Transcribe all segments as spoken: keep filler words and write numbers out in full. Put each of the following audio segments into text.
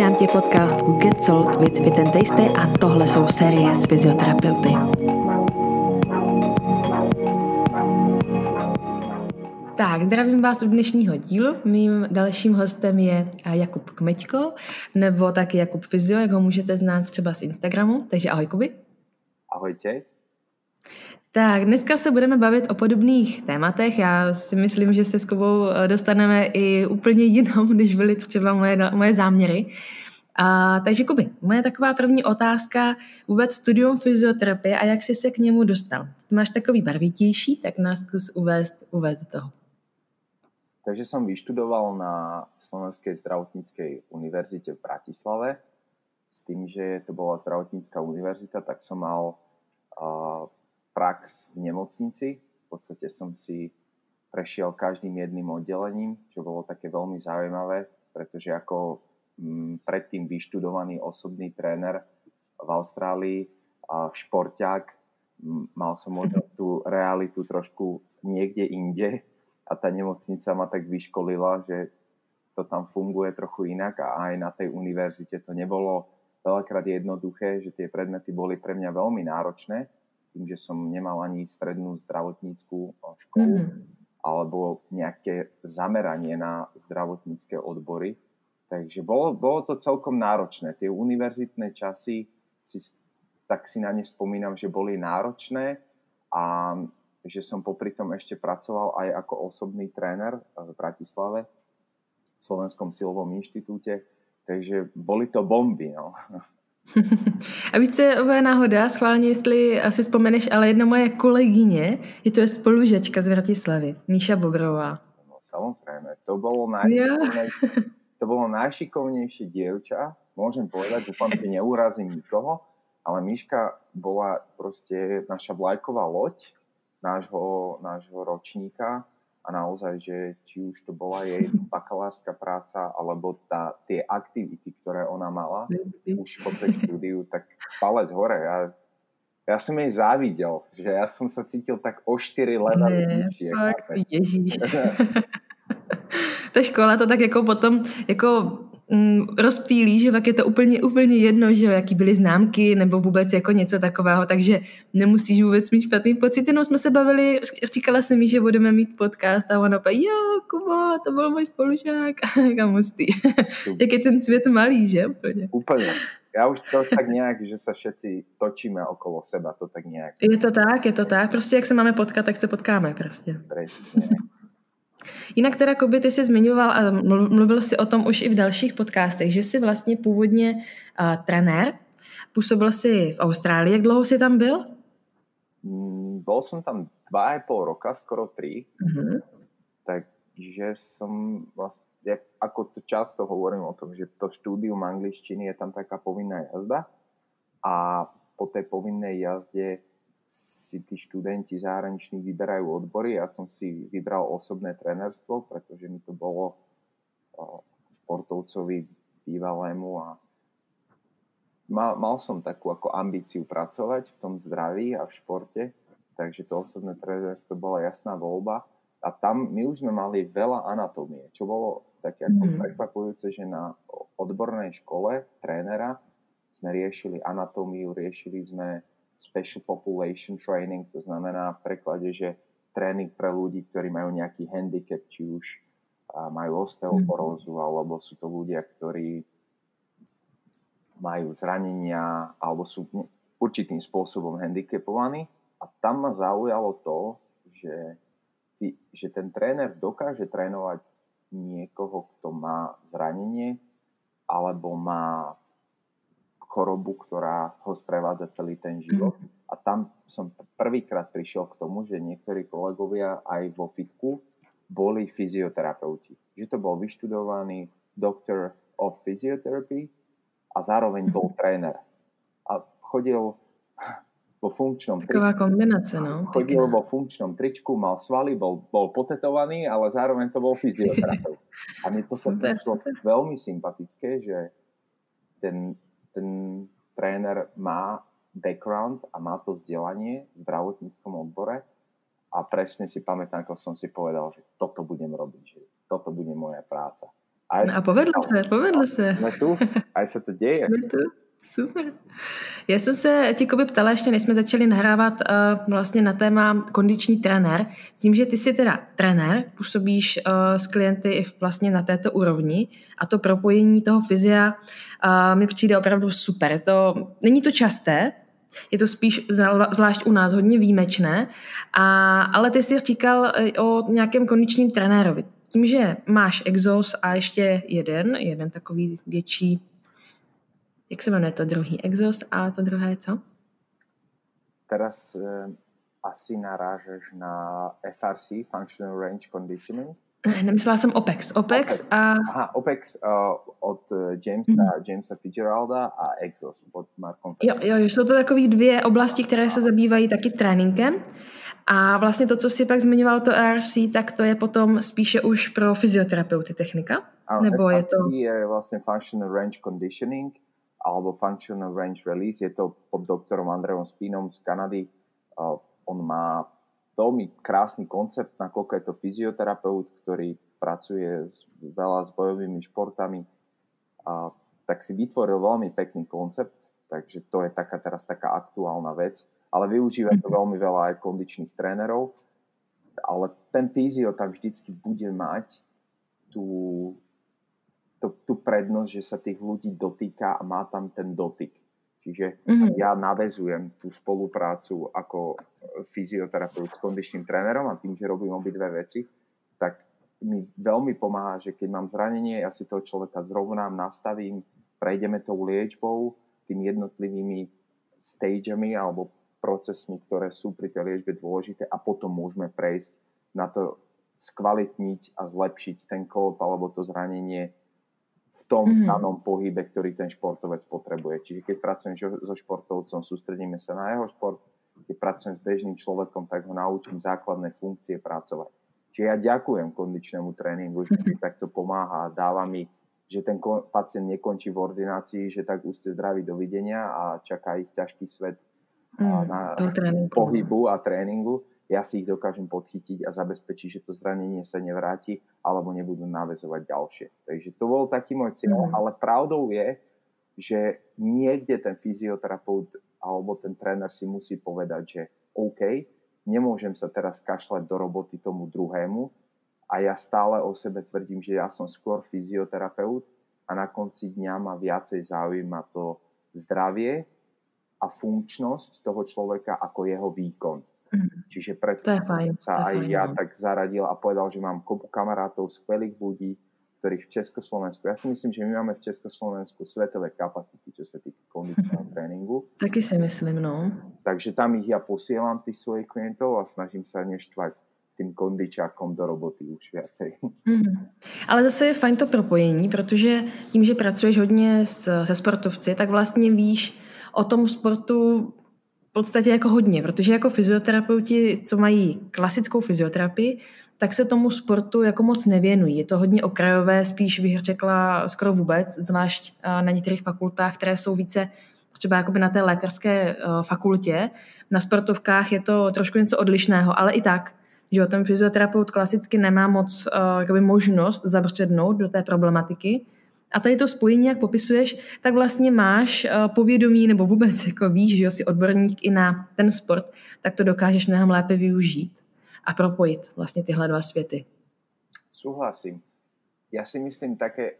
Vítám tě v podcastu Get Sold with Fit and Tasty a tohle jsou série s fyzioterapeuty. Tak, zdravím vás u dnešního dílu. Mým dalším hostem je Jakub Kmeďko, nebo taky Jakub Fyzio, jak ho můžete znát třeba z Instagramu. Takže ahoj, Kuby. Ahojte. Tak, dneska se budeme bavit o podobných tématech. Já si myslím, že se s Kubou dostaneme i úplně jinou, když byly třeba moje, moje záměry. A, takže Kuby, moje taková první otázka, vůbec studium fyzioterapie a jak jsi se k němu dostal? Ty máš takový barvitější, tak nás zkus uvést, uvést do toho. Takže som vyštudoval na Slovenskej zdravotníckej univerzite v Bratislave. S tým, že to bola zdravotnícka univerzita, tak som mal uh, prax v nemocnici. V podstate som si prešiel každým jedným oddelením, čo bolo také veľmi zaujímavé, pretože ako m, predtým vyštudovaný osobný tréner v Austrálii a šporťák, m, mal som možno tú realitu trošku niekde inde a tá nemocnica ma tak vyškolila, že to tam funguje trochu inak a aj na tej univerzite to nebolo veľakrát jednoduché, že tie predmety boli pre mňa veľmi náročné, tým, že som nemal ani strednú zdravotníckú školu mm-hmm. alebo nejaké zameranie na zdravotnícke odbory. Takže bolo, bolo to celkom náročné. Tie univerzitné časy, si, tak si na ne spomínam, že boli náročné a že som popri tom ešte pracoval aj ako osobný tréner v Bratislave, v Slovenskom silovom inštitúte. Takže boli to bomby, no. A víš, co je náhoda, schválně, jestli asi vzpomeneš, ale jedna moje kolegyně, je to je spolužačka z Bratislavy, Míša Bobrová. No, samozrejme, to bolo najšikovnejšie, to bolo najšikovnejšie dievča, môžem povedať, dúfam, že neurazím nikoho, ale Míška bola proste naša vlajková loď nášho, nášho ročníka a naozaj, že či už to bola jej bakalárska práca, alebo tá, tie aktivity, ktoré ona mala už po tej štúdiu, tak palec hore. Ja, ja som jej závidel, že ja som sa cítil tak o štyri levely vyššie. Ježíš. Ta škola to tak jako potom jako mm, rozptýlí, že pak je to úplně, úplně jedno, že jaký byly známky nebo vůbec jako něco takového, takže nemusíš vůbec mít špatný pocit, jenom jsme se bavili, říkala jsem mi, že budeme mít podcast a ona opět, jo, Kubo, to byl můj spolužák a mustý. Jak je ten svět malý, že? Úplně. Úplně. Ja už to tak nejak, že sa všetci točíme okolo seba, to tak nejak. Je to tak, je to tak, prostě jak se máme potkat, tak se potkáme prostě. Presne. Jinak teda, Kuby, ty jsi zmiňoval a mluvil si o tom už i v dalších podcastech, že jsi vlastně původně uh, trenér, působil jsi v Austrálii. Jak dlouho jsi tam byl? Mm, bol som tam dva a pol roka, skoro tri. Uh-huh. Takže som vlastne, ja, ako to často hovorím o tom, že to štúdium angličtiny je tam taká povinná jazda a po tej povinnej jazde si tí študenti zahraniční vyberajú odbory. Ja som si vybral osobné trénerstvo, pretože mi to bolo športovcovi bývalému a mal, mal som takú ako ambíciu pracovať v tom zdraví a v športe, takže to osobné trénerstvo bola jasná voľba. A tam my už sme mali veľa anatómie, čo bolo také ako mm. prekvapujúce, že na odbornej škole trénera sme riešili anatómiu, riešili sme special population training, to znamená v preklade, že tréning pre ľudí, ktorí majú nejaký handicap, či už majú osteoporózu, alebo sú to ľudia, ktorí majú zranenia, alebo sú určitým spôsobom handicapovaní. A tam ma zaujalo to, že, že ten tréner dokáže trénovať niekoho, kto má zranenie, alebo má chorobu, ktorá ho sprevádza celý ten život. Mm. A tam som prvýkrát prišiel k tomu, že niektorí kolegovia aj vo fitku boli fyzioterapeuti. Že to bol vyštudovaný doctor of physiotherapy a zároveň bol tréner. A chodil vo funkčnom tričku. Taková kombinace, no. Chodil vo funkčnom tričku, mal svaly, bol, bol potetovaný, ale zároveň to bol fyzioterapeut. A mi to sa prišlo veľmi sympatické, že ten ten tréner má background a má to vzdelanie v zdravotníckom odbore a presne si pamätám, ako som si povedal, že toto budem robiť, že toto bude moja práca. Aj, No a povedlo se, povedlo se. Jsme tu, aj se to děje. Jsme tu, super. Já jsem se tě, Kuby, ptala, ještě než jsme začali nahrávat uh, vlastně na téma kondiční trenér, s tím, že ty jsi teda trenér, působíš uh, s klienty i vlastně na této úrovni a to propojení toho fyzia uh, mi přijde opravdu super. To, není to časté, je to spíš zvlášť u nás hodně výjimečné, a, ale ty jsi říkal o nějakém kondičním trenérovi. Tím, že máš Exos a ještě jeden, jeden takový větší, jak se jmenuje to druhý? Exos a to druhé co? Teraz eh, asi narážeš na F R C, Functional Range Conditioning. Ne, nemyslela jsem OPEX. OPEX, OPEX. a... Aha, OPEX uh, od Jamesa, mm-hmm. Jamesa Fitzgeralda a Exos od Markom. Jo, jo, jsou to takové dvě oblasti, které se zabývají taky tréninkem. A vlastně to, co si pak zmiňoval, to E R C, tak to je potom spíše už pro fyzioterapeuty technika? Ano, nebo F R C je to... je vlastně Functional Range Conditioning alebo Functional Range Release. Je to pod doktorom Andreom Spínom z Kanady. Uh, on má veľmi krásny koncept, nakoľko je to fyzioterapeut, ktorý pracuje s, veľa s bojovými športami. A, tak si vytvoril veľmi pekný koncept, takže to je taká teraz taká aktuálna vec. Ale využíva to veľmi veľa aj kondičných trénerov. Ale ten fyzio tam vždycky bude mať tú, tú, tú prednosť, že sa tých ľudí dotýka a má tam ten dotyk. Čiže mm-hmm. ja naväzujem tú spoluprácu ako fyzioterapeut s kondičným trénerom a tým, že robím obidve veci, tak mi veľmi pomáha, že keď mám zranenie, ja si toho človeka zrovnám, nastavím, prejdeme tou liečbou, tým jednotlivými stageami alebo procesmi, ktoré sú pri tej liečbe dôležité a potom môžeme prejsť na to skvalitniť a zlepšiť ten klop alebo to zranenie v tom mm-hmm. danom pohybe, ktorý ten športovec potrebuje. Čiže keď pracujem so športovcom, sústredíme sa na jeho šport. Keď pracujem s bežným človekom, tak ho naučím základné funkcie pracovať. Čiže ja ďakujem kondičnému tréningu, že mi takto pomáha a dáva mi, že ten pacient nekončí v ordinácii, že tak už ste zdraví, dovidenia a čaká ich ťažký svet mm, na pohybu a tréningu. Ja si ich dokážem podchytiť a zabezpečiť, že to zranenie sa nevráti alebo nebudú naväzovať ďalšie. Takže to bol taký môj cieľ, mm. ale pravdou je, že niekde ten fyzioterapeut alebo ten tréner si musí povedať, že OK, nemôžem sa teraz kašľať do roboty tomu druhému a ja stále o sebe tvrdím, že ja som skôr fyzioterapeut a na konci dňa ma viacej zaujíma to zdravie a funkčnosť toho človeka ako jeho výkon. Čiže preto sa aj ja tak zaradil a povedal, že mám kopu kamarátov, skvelých ľudí, ktorých v Československu, ja si myslím, že my máme v Československu svetové kapacity, čo sa týka kondičného tréningu. Taky si myslím, no. Takže tam ich ja posielam, tých svojich klientov a snažím sa neštvať tým kondičákom do roboty už viacej. Mm. Ale zase je fajn to propojení, protože tím, že pracuješ hodně s, se sportovci, tak vlastně víš o tom sportu v podstatě jako hodně, protože jako fyzioterapeuti, co mají klasickou fyzioterapii, tak se tomu sportu jako moc nevěnují. Je to hodně okrajové, spíš bych řekla skoro vůbec, zvlášť na některých fakultách, které jsou více třeba jakoby na té lékařské fakultě. Na sportovkách je to trošku něco odlišného, ale i tak, že ten fyzioterapeut klasicky nemá moc jakoby možnost zabřednout do té problematiky. A tady to spojení, jak popisuješ, tak vlastně máš povědomí nebo vůbec jako víš, že jsi odborník i na ten sport, tak to dokážeš mnohem lépe využít a propojit vlastně tyhle dva světy. Súhlasím. Ja si myslím také,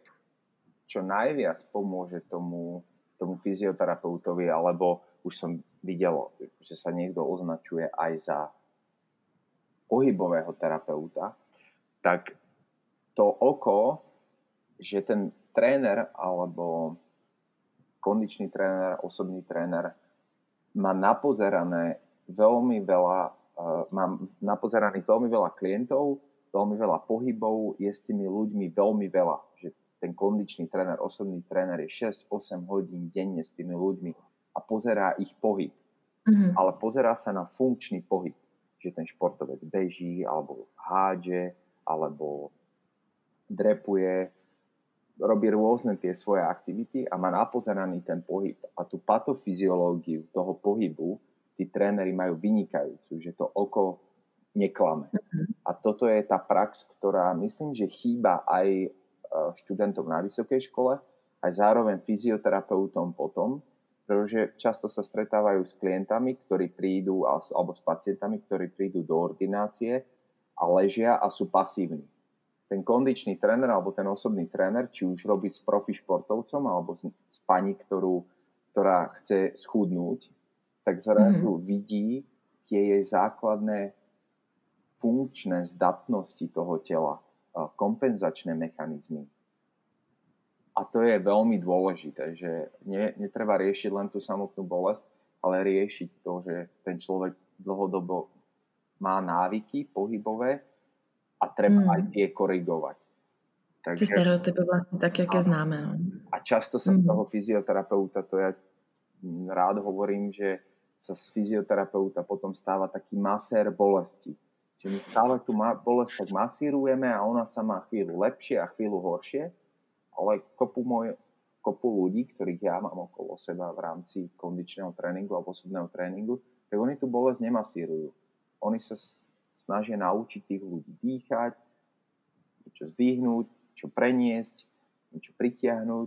čo najviac pomôže tomu, tomu fyzioterapeutovi, alebo už som videl, že sa niekto označuje aj za pohybového terapeuta, tak to oko, že ten tréner alebo kondičný tréner, osobný tréner má napozerané veľmi veľa Uh, mám napozeraných veľmi veľa klientov, veľmi veľa pohybov, je s tými ľuďmi veľmi veľa. Že ten kondičný tréner, osobný tréner je šesť osem hodín denne s tými ľuďmi a pozerá ich pohyb. Mm-hmm. Ale pozerá sa na funkčný pohyb. Že ten športovec beží, alebo hádže, alebo drepuje, robí rôzne tie svoje aktivity a má napozeraný ten pohyb. A tú patofyziológiu toho pohybu tí tréneri majú vynikajúcu, že to oko neklame. Uh-huh. A toto je tá prax, ktorá myslím, že chýba aj študentom na vysokej škole, aj zároveň fyzioterapeutom potom, pretože často sa stretávajú s klientami, ktorí prídu, alebo s pacientami, ktorí prídu do ordinácie a ležia a sú pasívni. Ten kondičný tréner alebo ten osobný tréner, či už robí s profi športovcom alebo s, s pani, ktorú, ktorá chce schudnúť, tak zrazu mm-hmm. vidí tie jej základné funkčné zdatnosti toho tela, kompenzačné mechanizmy. A to je veľmi dôležité, že ne, netreba riešiť len tú samotnú bolesť, ale riešiť to, že ten človek dlhodobo má návyky pohybové a treba mm. aj tie korigovať. Takže, ty stereotypy vlastne tak, jaké známe. No. A často sa mm. z toho fyzioterapeuta, to ja rád hovorím, že sa z fyzioterapeuta potom stáva taký masér bolesti. Čiže my stále tú bolesť tak masírujeme a ona sa má chvíľu lepšie a chvíľu horšie, ale kopu, môj, kopu ľudí, ktorých ja mám okolo seba v rámci kondičného tréningu alebo osobného tréningu, tak oni tú bolesť nemasírujú. Oni sa snažia naučiť tých ľudí dýchať, niečo zdvihnúť, niečo preniesť, niečo pritiahnuť,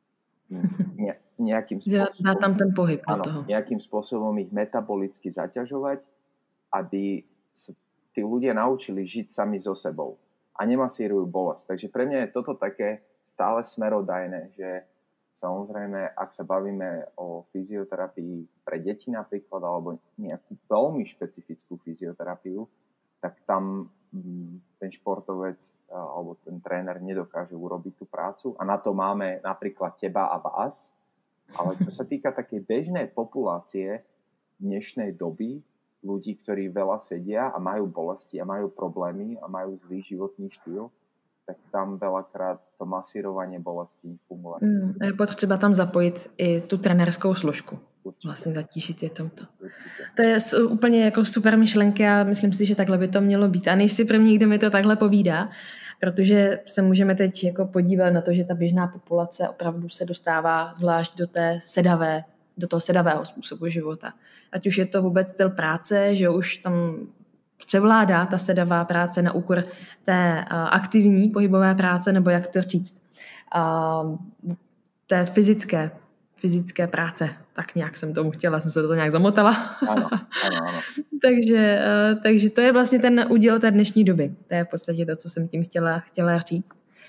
ne, nejakým spôsobom, dá tam ten pohyb áno, toho. nejakým spôsobom ich metabolicky zaťažovať, aby sa tí ľudia naučili žiť sami so sebou a nemasírujú bolesť. Takže pre mňa je toto také stále smerodajné, že samozrejme, ak sa bavíme o fyzioterapii pre deti napríklad, alebo nejakú veľmi špecifickú fyzioterapiu, tak tam ten športovec alebo ten tréner nedokáže urobiť tú prácu a na to máme napríklad teba a vás. Ale čo sa týka takej bežnej populácie dnešnej doby, ľudí, ktorí veľa sedia a majú bolesti a majú problémy a majú zlý životný štýl, tak tam veľakrát to masírovanie bolesti funguje. Mm, je potřeba tam zapojit i tu trenérskou složku. Určitě. Vlastně zatížit je tomto. Určitě. To je úplně jako super myšlenka a myslím si, že takhle by to mělo být. A nejsi první, kdo mi to takhle povídá, protože se můžeme teď jako podívat na to, že ta běžná populace opravdu se dostává zvlášť do té sedavé, do toho sedavého způsobu života. Ať už je to vůbec styl práce, že už tam převládá ta sedavá práce na úkor té uh, aktivní pohybové práce, nebo jak to říct, uh, té fyzické, fyzické práce. Tak nějak jsem tomu chtěla, jsem se do toho nějak zamotala. Ano, ano, ano. takže, uh, takže to je vlastně ten úděl té dnešní doby. To je v podstatě to, co jsem tím chtěla, chtěla říct.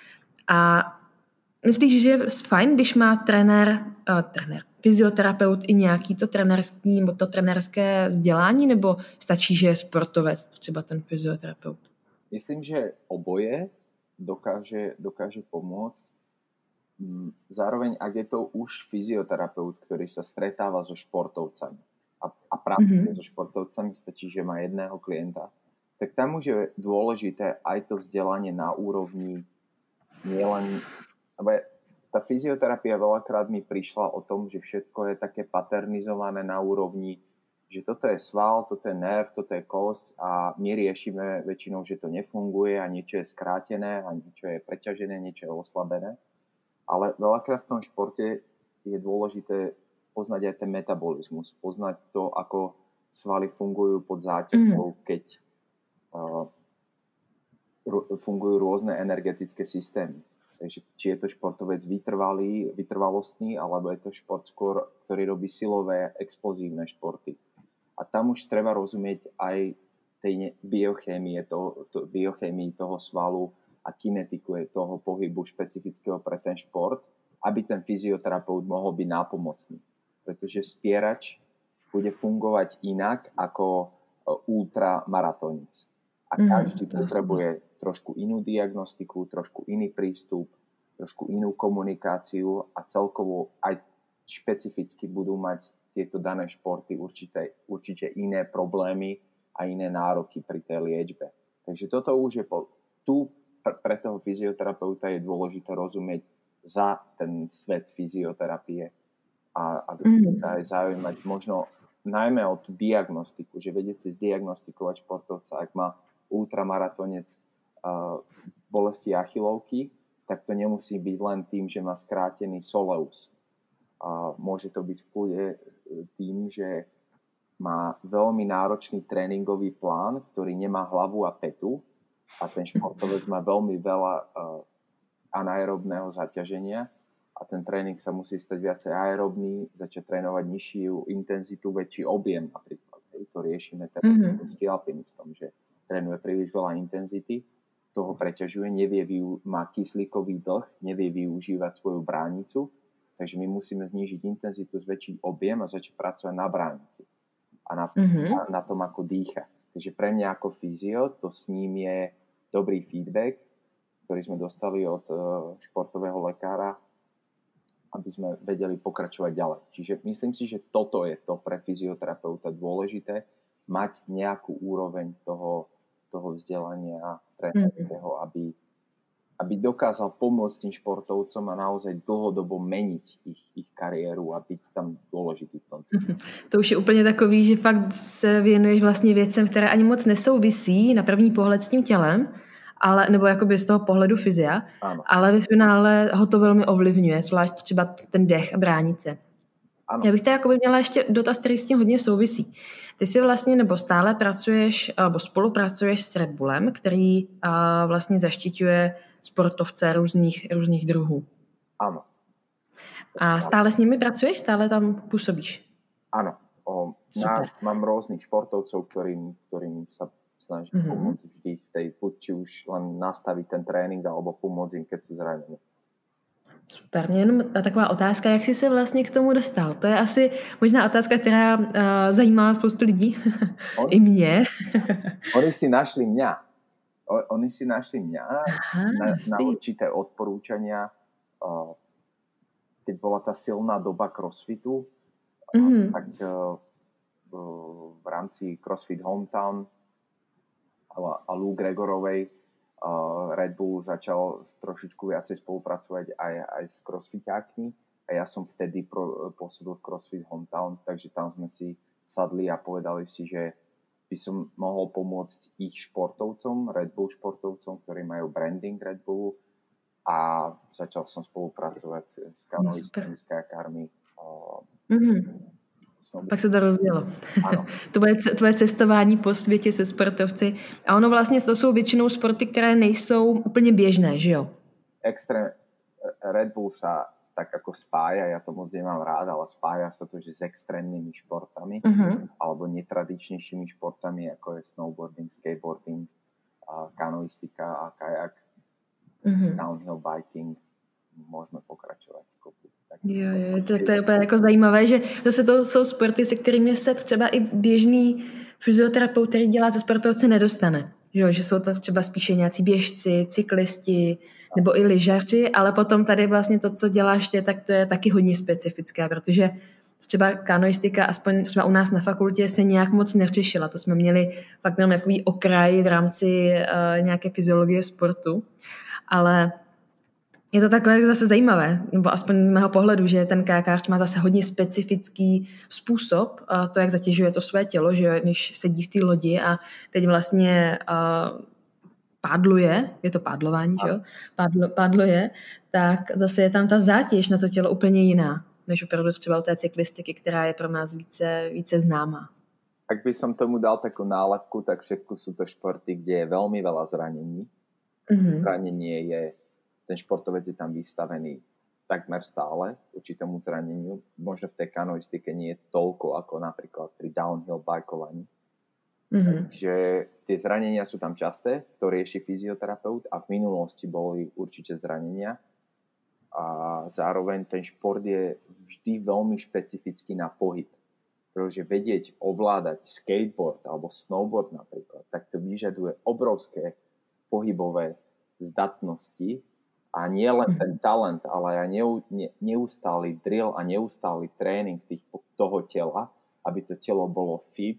A myslíš, že je fajn, když má trenér, uh, trenér, fyzioterapeut i nějaký to trenérský nebo to trenérské vzdělání, nebo stačí, že je sportovec, třeba ten fyzioterapeut? Myslím, že oboje dokáže, dokáže pomôcť. Zároveň, ak je to už fyzioterapeut, ktorý sa stretáva so športovcami a, a pracuje mm-hmm. so športovcami, stačí, že má jedného klienta, tak tam už je dôležité aj to vzdelanie na úrovni nielen... Tá fyzioterapia veľakrát mi prišla o tom, že všetko je také paternizované na úrovni, že toto je sval, toto je nerv, toto je kosť a my riešime väčšinou, že to nefunguje a niečo je skrátené a niečo je preťažené, niečo je oslabené. Ale veľakrát v tom športe je dôležité poznať aj ten metabolizmus, poznať to, ako svaly fungujú pod záťažou, keď uh, fungujú rôzne energetické systémy. Takže či je to športovec vytrvalý, vytrvalostný, alebo je to šport skôr, ktorý robí silové, explozívne športy. A tam už treba rozumieť aj tej biochémie toho, to, biochémii toho svalu a kinetiku toho pohybu špecifického pre ten šport, aby ten fyzioterapeut mohol byť nápomocný. Pretože spierač bude fungovať inak ako ultramaratónec. A každý mm, potrebuje trošku inú diagnostiku, trošku iný prístup, trošku inú komunikáciu a celkovo aj špecificky budú mať tieto dané športy určite, určite iné problémy a iné nároky pri tej liečbe. Takže toto už je po, tu pre toho fyzioterapeuta je dôležité rozumieť za ten svet fyzioterapie a, a mm. sa aj zaujímať možno najmä o tú diagnostiku, že vedieť si zdiagnostikovať športovca, ak má ultramaratonec uh, bolesti achilovky, tak to nemusí byť len tým, že má skrátený soleus. Uh, môže to byť v kľude tým, že má veľmi náročný tréningový plán, ktorý nemá hlavu a petu a ten športovec má veľmi veľa uh, anaerobného zaťaženia a ten tréning sa musí stať viacej aerobný, začať trénovať nižšiu intenzitu, väčší objem napríklad. Hej, to riešime teraz mm-hmm. s alpinistom, že trénuje príliš veľa intenzity, toho preťažuje, nevie vyu- má kyslíkový dlh, nevie využívať svoju bránicu, takže my musíme znížiť intenzitu, zväčšiť objem a začať pracovať na bránici a na, mm-hmm. na, na tom, ako dýcha. Takže pre mňa ako fyzio, to s ním je dobrý feedback, ktorý sme dostali od uh, športového lekára, aby sme vedeli pokračovať ďalej. Čiže myslím si, že toto je to pre fyzioterapeuta dôležité, mať nejakú úroveň toho, toho vzdelania trénerského, aby, aby dokázal pomôcť tým športovcom a naozaj dlhodobo meniť ich, ich kariéru a byť tam dôležitý v tom. To už je úplně takový, že fakt se věnuješ vlastně věcem, které ani moc nesouvisí na první pohled s tím tělem, ale, nebo jakoby z toho pohledu fyzia, ano. Ale ve finále ho to velmi ovlivňuje, zvlášť třeba ten dech a bránice. Ano. Já bych tady jakoby měla ještě dotaz, který s tím hodně souvisí. Ty si vlastně nebo stále pracuješ, nebo spolupracuješ s Red Bullem, který a, vlastně zaštiťuje sportovce různých, různých druhů. Ano. A stále s nimi pracuješ? Stále tam působíš? Áno. O, na, mám rôznych športovcov, ktorým, ktorým sa snažím mm-hmm. pomôcť vždy v tej, či už len nastaviť ten trénink, alebo pomôcť im, keď sú zranení. Super. Mě jenom taková otázka, jak jsi se vlastně k tomu dostal? To je asi možná otázka, která uh, zajímá spoustu lidí. On, I mě. Oni si našli mňa. O, oni si našli mňa Aha, na, na určité odporúčania. Uh, keď bola tá silná doba crossfitu, mm-hmm. tak uh, v rámci CrossFit Hometown a Lou Gregorovej uh, Red Bull začal trošičku viacej spolupracovať aj, aj s crossfitákmi a ja som vtedy pro, pôsobil v CrossFit Hometown, takže tam sme si sadli a povedali si, že by som mohol pomôcť ich športovcom, Red Bull športovcom, ktorí majú branding Red Bullu, a začal som spolupracovať s, s kanoistami, s kajakármi. Mm-hmm. Pak se to rozdělo. Tvoje, tvoje cestování po světě se sportovci. A ono vlastně to jsou většinou sporty, které nejsou úplně běžné, že jo? Extrém, Red Bull sa tak ako spája, ja to moc nemám rád, ale spája sa to, že s extrémnymi športami mm-hmm. alebo netradičnejšími športami, ako je snowboarding, skateboarding, kanoistika a kajak. Mm-hmm. Downhill biking, môžeme pokračovať. Jo, jo, to, to je úplně jako zajímavé, že zase to jsou sporty, se kterými se třeba i běžný fyzioterapeut, který dělá ze sportovce, nedostane. Jo, že jsou to třeba spíše nějací běžci, cyklisti nebo i lyžaři, ale potom tady vlastně to, co děláš ty, tak to je taky hodně specifické, protože třeba kanoistika, aspoň třeba u nás na fakultě, se nějak moc neřešila. To jsme měli fakt jenom takový okraj v rámci uh, nějaké fyziologie sportu. Ale je to takové zase zajímavé, nebo aspoň z mého pohledu, že ten kajakář má zase hodně specifický způsob, to, jak zatěžuje to své tělo, že když sedí v té lodi a teď vlastně uh, pádluje, je to pádlování, že jo? Pádlo, pádluje, tak zase je tam ta zátěž na to tělo úplně jiná, než opravdu třeba u té cyklistiky, která je pro nás více, více známá. Ak by som tomu dal takú nálepku, tak všetko sú to športy, kde je veľmi veľa zranení. Mm-hmm. Zranenie je, ten športovec je tam vystavený takmer stále určitému zraneniu. Možno v tej kanoistike nie je toľko ako napríklad pri downhill bajkovaní. Mm-hmm. Takže tie zranenia sú tam časté, to rieši fyzioterapeut a v minulosti boli určite zranenia. A zároveň ten šport je vždy veľmi špecifický na pohyb. Pretože vedieť ovládať skateboard alebo snowboard napríklad, tak to vyžaduje obrovské pohybové zdatnosti a nie len ten talent, ale aj neustály drill a neustály tréning tých, toho tela, aby to telo bolo fit,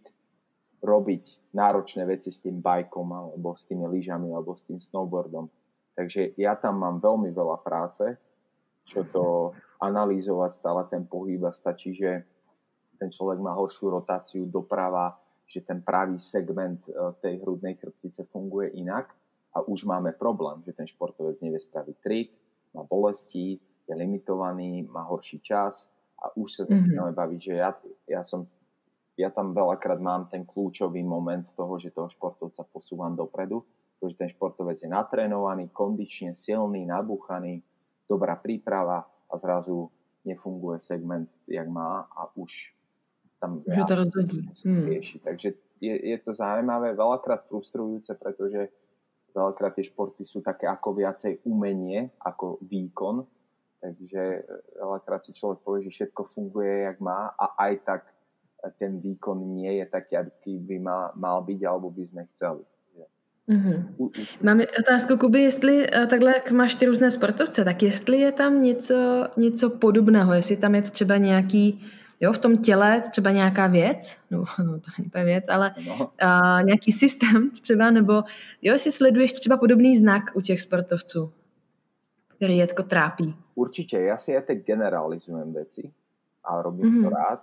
robiť náročné veci s tým bajkom alebo s tými lyžami alebo s tým snowboardom. Takže ja tam mám veľmi veľa práce, čo to analyzovať stále ten pohyb a stačí, že ten človek má horšiu rotáciu doprava, že ten pravý segment tej hrudnej chrbtice funguje inak a už máme problém, že ten športovec nevie spraviť trik, má bolesti, je limitovaný, má horší čas a už sa začíname mm-hmm. baviť, že ja, ja som ja tam veľakrát mám ten kľúčový moment z toho, že toho športovca posúvam dopredu, pretože ten športovec je natrénovaný, kondične silný, nabúchaný, dobrá príprava a zrazu nefunguje segment, jak má a už tam Že to rozhodí. Hmm. rieši. Takže je, je to zaujímavé, veľakrát frustrujúce, pretože veľakrát tie športy sú také ako viacej umenie, ako výkon. Takže veľakrát si človek povie, že všetko funguje, jak má a aj tak ten výkon nie je taký, aký by mal, mal byť, alebo by sme chceli. Mm-hmm. Mám otázku, Kuby, jestli takhle, jak máš ty různé sportovce, tak jestli je tam něco, něco podobného, jestli tam je třeba nějaký, jo, v tom těle třeba nějaká věc, no, no to není věc, ale no. a, nějaký systém třeba, nebo jo, jestli sleduješ třeba podobný znak u těch sportovců, který je tako trápí. Určite, ja si aj tak generalizujem veci a robím mm-hmm. to rád,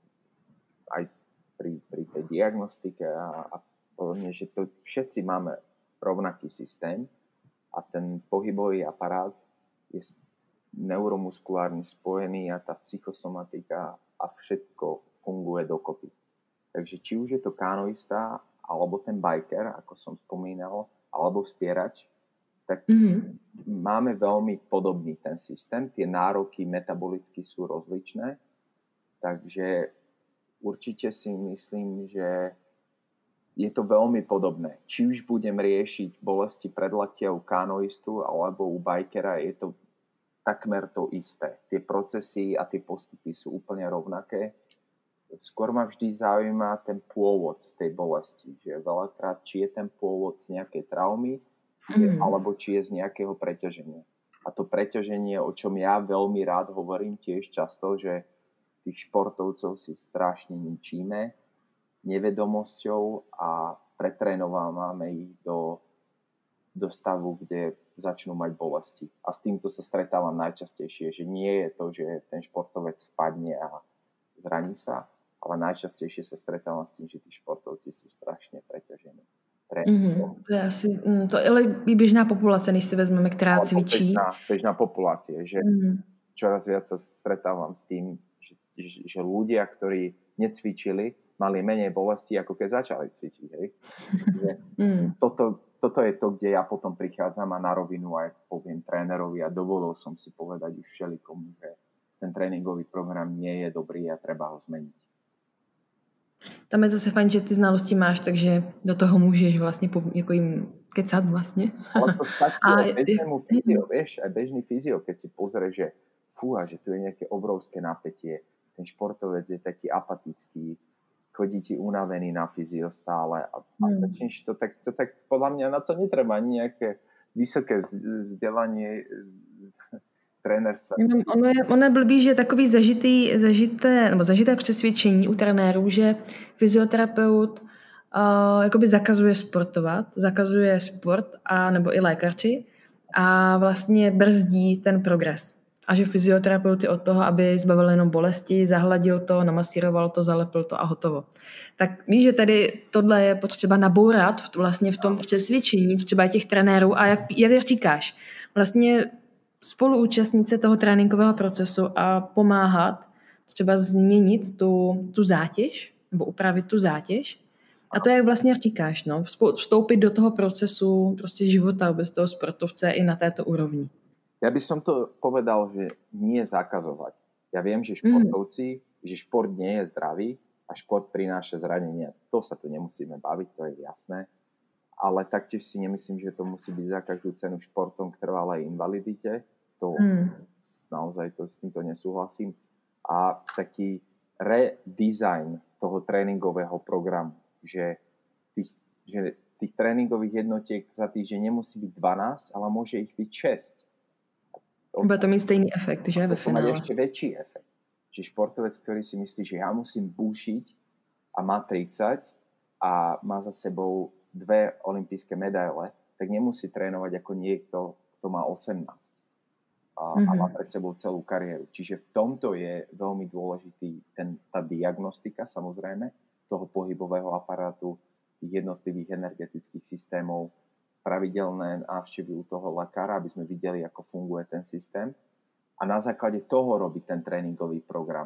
aj pri, pri tej diagnostike a, a podobne, že to všetci máme rovnaký systém a ten pohybový aparát je neuromuskulárne spojený a tá psychosomatika a všetko funguje dokopy. Takže či už je to kanoista, alebo ten biker, ako som spomínal, alebo spierač, tak mm-hmm. máme veľmi podobný ten systém. Tie nároky metabolicky sú rozličné, takže určite si myslím, že je to veľmi podobné. Či už budem riešiť bolesti predlaktia u kanoistu alebo u bikera, je to takmer to isté. Tie procesy a tie postupy sú úplne rovnaké. Skôr ma vždy zaujíma ten pôvod tej bolesti, že veľakrát, či je ten pôvod z nejakej traumy, mm. alebo či je z nejakého preťaženia. A to preťaženie, o čom ja veľmi rád hovorím tiež často, že tých športovcov si strašne ničíme nevedomosťou a pretrénovávame ich do, do stavu, kde začnú mať bolesti. A s týmto sa stretávam najčastejšie, že nie je to, že ten športovec spadne a zraní sa, ale najčastejšie sa stretávam s tým, že tí športovci sú strašne preťažení. Mm-hmm. To je asi, to je ale běžná populace, než si vezmeme, která cvičí. Bežná, bežná populácie, že mm-hmm. čoraz viac sa stretávam s tým, že, že, že ľudia, ktorí necvičili, mali menej bolesti, ako keď začali cvičiť. Hej? Že mm. toto, toto je to, kde ja potom prichádzam a na rovinu aj poviem trénerovi a dovolil som si povedať už všelikomu, že ten tréningový program nie je dobrý a treba ho zmeniť. Tam je zase fajn, že ty znalosti máš, takže do toho můžeš vlastně jako jim kecat vlastně. Ale to stačí aj bežnému fyzio, vieš, aj bežný fyzio, keď si pozrie, že fúha, že tu je nejaké obrovské napätie, ten športovec je taký apatický, chodí ti unavený na fyzio stále a, a hmm. začneš to tak, to tak, podľa mňa na to netreba ani nejaké vysoké vzdelanie trenérstva. Ono je, ono je blbý, že takový zažitý, zažité, nebo zažité přesvědčení u trenérů, že fyzioterapeut uh, jakoby zakazuje sportovat, zakazuje sport, a, nebo i lékaři a vlastně brzdí ten progres. A že fyzioterapeut je od toho, aby zbavil jenom bolesti, zahladil to, namasíroval to, zalepil to a hotovo. Tak víš, že tady tohle je potřeba nabourat vlastně v tom přesvědčení třeba těch trenérů a jak, jak říkáš, vlastně spoluúčastnit toho tréninkového procesu a pomáhat třeba změnit tu, tu zátěž nebo upravit tu zátěž. A to, jak vlastně říkáš, no, vstoupit do toho procesu prostě života bez toho sportovce i na této úrovni. Ja by som to povedal, že nie zakazovať. Ja viem, že športovci, mm. že šport nie je zdravý a šport prináša zranenia. To sa tu nemusíme baviť, to je jasné. Ale taktiež si nemyslím, že to musí byť za každú cenu športom k trvalej invalidite. To mm. naozaj to, s týmto nesúhlasím. A taký redesign toho tréningového programu, že tých, že tých tréningových jednotiek za týždeň nemusí byť dvanásť, ale môže ich byť šesť. Bude to mít stejný efekt, že? Ve finále. To má ešte väčší efekt. Že športovec, ktorý si myslí, že ja musím búšiť a má tridsať a má za sebou dve olympijské medaile, tak nemusí trénovať ako niekto, kto má osemnásť a, mm-hmm. a má pred sebou celú kariéru. Čiže v tomto je veľmi dôležitý ten, tá diagnostika, samozrejme, toho pohybového aparátu, jednotlivých energetických systémov, pravidelné návštevy u toho lekára, aby sme videli, ako funguje ten systém. A na základe toho robiť ten tréningový program.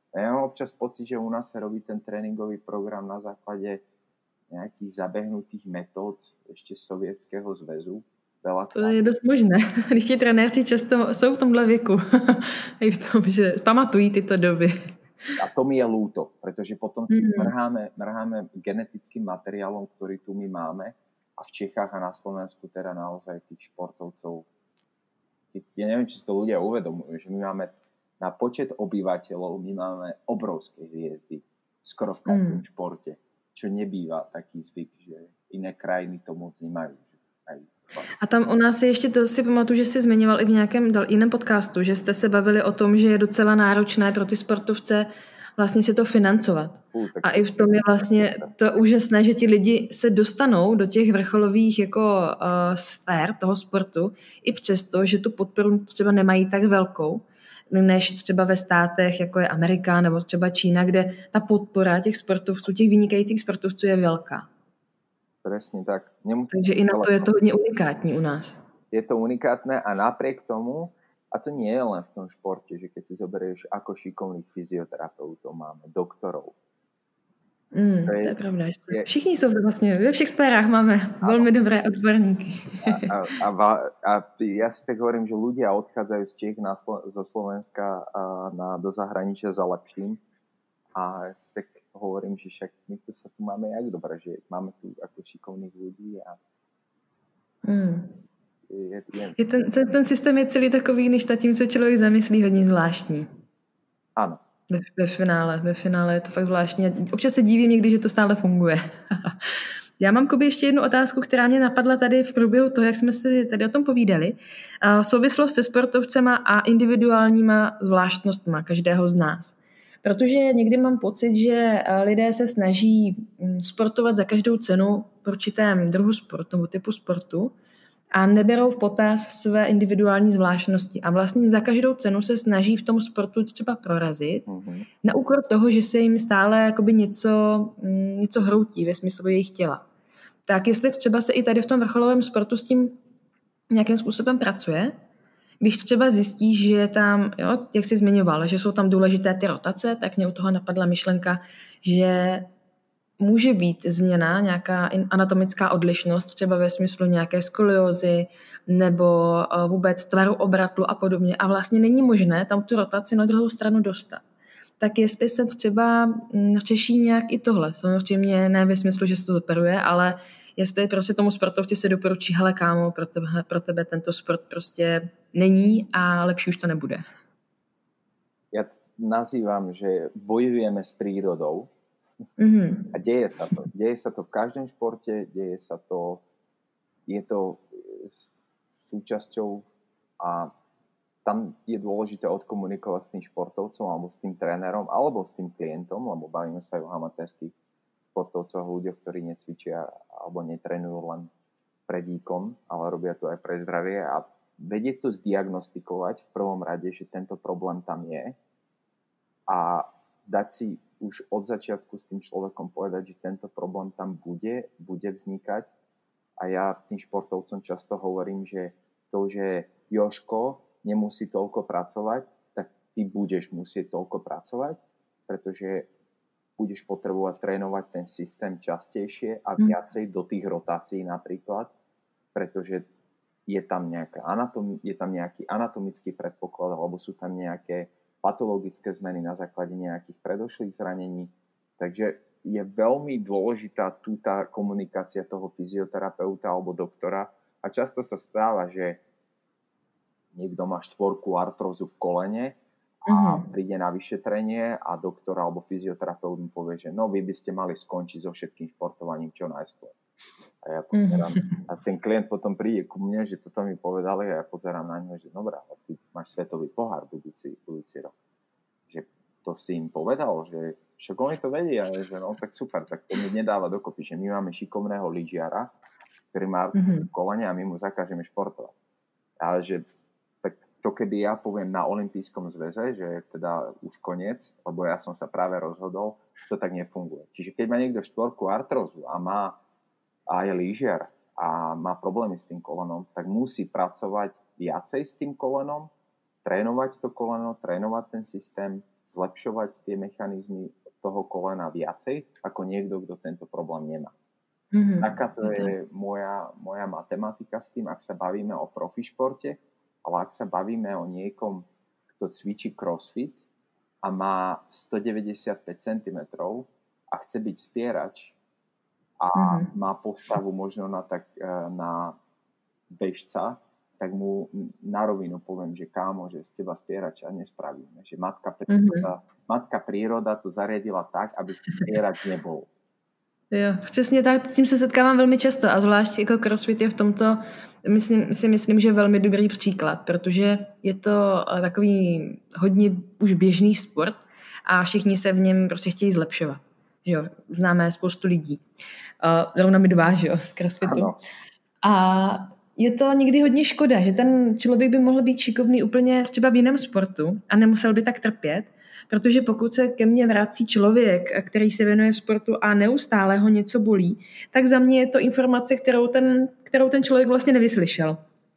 Ja mám občas pocit, že u nás sa robí ten tréningový program na základe nejakých zabehnutých metód ešte z Sovětského zväzu. To je dost možné, když ti trenéři často jsou v tomhle věku. I v tom, že pamatují tyto doby. A to mi je ľúto, pretože potom mm-hmm. mrháme, mrháme genetickým materiálom, ktorý tu my máme. A v Čechách a na Slovensku teda naozaj tých športovcov. Ja neviem, či si to ľudia uvedomujú, že my máme na počet obyvateľov, my máme obrovské hviezdy. Skoro v každom mm. športe. Čo nebýva taký zvyk, že iné krajiny to moc nemajú. A tam u nás je ještě, to si pamatuju, že jsi zmiňoval i v nějakém jiném podcastu, že jste se bavili o tom, že je docela náročné pro ty sportovce vlastně si to financovat. A i v tom je vlastně to úžasné, že ti lidi se dostanou do těch vrcholových jako uh, sfér toho sportu, i přesto, že tu podporu třeba nemají tak velkou, než třeba ve státech, jako je Amerika nebo třeba Čína, kde ta podpora těch sportovců, těch vynikajících sportovců je velká. Presne tak. Nemusí Takže i na to je to hodně unikátní u nás. Je to unikátne a napriek tomu, a to nie je len v tom športe, že keď si zoberieš, ako šikovných fyzioterapeutov máme, doktorov. Mm, to, je, to je pravda. Je, všichni jsou vlastně, ve všech sférách máme velmi dobré odborníky. A, a, a, a ja si tak hovorím, že ľudia odchádzajú z Čech na, zo Slovenska a na, do zahraničia za lepším. A ja si tak hovorím, že však my tu sa tu máme jak dobré, že máme tu ako šikovných ľudí a hmm. je, je... Je ten, ten, ten systém je celý takový, než nad tím se člověk zamyslí, hodně zvláštní. Ano. Ve, ve finále, ve finále je to fakt zvláštní. Občas se dívím někdy, že to stále funguje. Já mám Kubi ještě jednu otázku, která mě napadla tady v průběhu toho, jak jsme si tady o tom povídali. Souvislost se sportovcema a individuálníma zvláštnostma každého z nás. Protože někdy mám pocit, že lidé se snaží sportovat za každou cenu v určitém druhu sportu nebo typu sportu a neberou v potaz své individuální zvláštnosti. A vlastně za každou cenu se snaží v tom sportu třeba prorazit mm-hmm. na úkor toho, že se jim stále jakoby něco, něco hroutí ve smyslu jejich těla. Tak jestli třeba se i tady v tom vrcholovém sportu s tím nějakým způsobem pracuje, když třeba zjistíš, že je tam, jo, jak jsi zmiňoval, že jsou tam důležité ty rotace, tak mě u toho napadla myšlenka, že může být změna, nějaká anatomická odlišnost, třeba ve smyslu nějaké skoliózy nebo vůbec tvaru obratlu a podobně. A vlastně není možné tam tu rotaci na druhou stranu dostat. Tak jestli se třeba řeší nějak i tohle. Samozřejmě ne ve smyslu, že se to zoperuje, ale jestli prostě tomu sportovci se doporučí, hele kámo, pro tebe, pro tebe tento sport prostě není a lepší už to nebude. Ja nazývam, že bojujeme s prírodou mm-hmm. a deje sa to. Deje sa to v každom športe, deje sa to, je to súčasťou a tam je dôležité odkomunikovať s tým športovcom alebo s tým trénerom alebo s tým klientom, lebo bavíme sa aj o amatérských športovcov, ľuďoch, ktorí necvičia alebo netrenujú len pre výkon, ale robia to aj pre zdravie a vedieť to zdiagnostikovať v prvom rade, že tento problém tam je a dať si už od začiatku s tým človekom povedať, že tento problém tam bude, bude vznikať a ja tým športovcom často hovorím, že to, že Jožko nemusí toľko pracovať, tak ty budeš musieť toľko pracovať, pretože budeš potrebovať trénovať ten systém častejšie a viacej do tých rotácií napríklad, pretože je tam, nejaká anatom, je tam nejaký anatomický predpoklad alebo sú tam nejaké patologické zmeny na základe nejakých predošlých zranení. Takže je veľmi dôležitá tu tá komunikácia toho fyzioterapeuta alebo doktora a často sa stáva, že niekto má štvorku artrózu v kolene a mm-hmm. príde na vyšetrenie a doktor alebo fyzioterapeut mu povie, že no vy by ste mali skončiť so všetkým športovaním čo najskôr. A ja pozerám, mm-hmm. a ten klient potom príde ku mne, že toto mi povedali a ja pozerám na ňo, že dobrá, ty máš svetový pohár budúci, budúci rok. Že to si im povedal, že však oni to vedia, že no tak super, tak to mi nedáva dokopy, že my máme šikovného lyžiara, ktorý má mm-hmm. v kolene a my mu zakážeme športovať. Ale že to keby ja poviem na olympijskom zväze, že je teda už koniec, lebo ja som sa práve rozhodol, to tak nefunguje. Čiže keď má niekto štvorku artrózu a má a je lyžiar a má problémy s tým kolenom, tak musí pracovať viacej s tým kolenom, trénovať to koleno, trénovať ten systém, zlepšovať tie mechanizmy toho kolena viacej ako niekto, kto tento problém nemá. Mm-hmm. Taká to je moja, moja matematika s tým, ak sa bavíme o profi športe, ale ak sa bavíme o niekom, kto cvičí crossfit a má stodeväťdesiatpäť centimetrov a chce byť spierač a mm-hmm. má postavu možno na, tak, na bežca, tak mu na rovinu poviem, že kámo, že z teba spierača nespravíme. Že matka príroda, mm-hmm. matka príroda to zariadila tak, aby spierač nebol. Jo, přesně tak, tím se setkávám velmi často a zvlášť jako crossfit je v tomto, myslím, si myslím, že velmi dobrý příklad, protože je to takový hodně už běžný sport a všichni se v něm prostě chtějí zlepšovat. Jo, známe spoustu lidí. Uh, zrovna mi dva, že jo, z crossfitu. Ano. A je to někdy hodně škoda, že ten člověk by mohl být šikovný úplně třeba v jiném sportu a nemusel by tak trpět, protože pokud se ke mně vrací člověk, který se věnuje sportu a neustále ho něco bolí, tak za mě je to informace, kterou ten, kterou ten člověk vlastně nevyslyšel.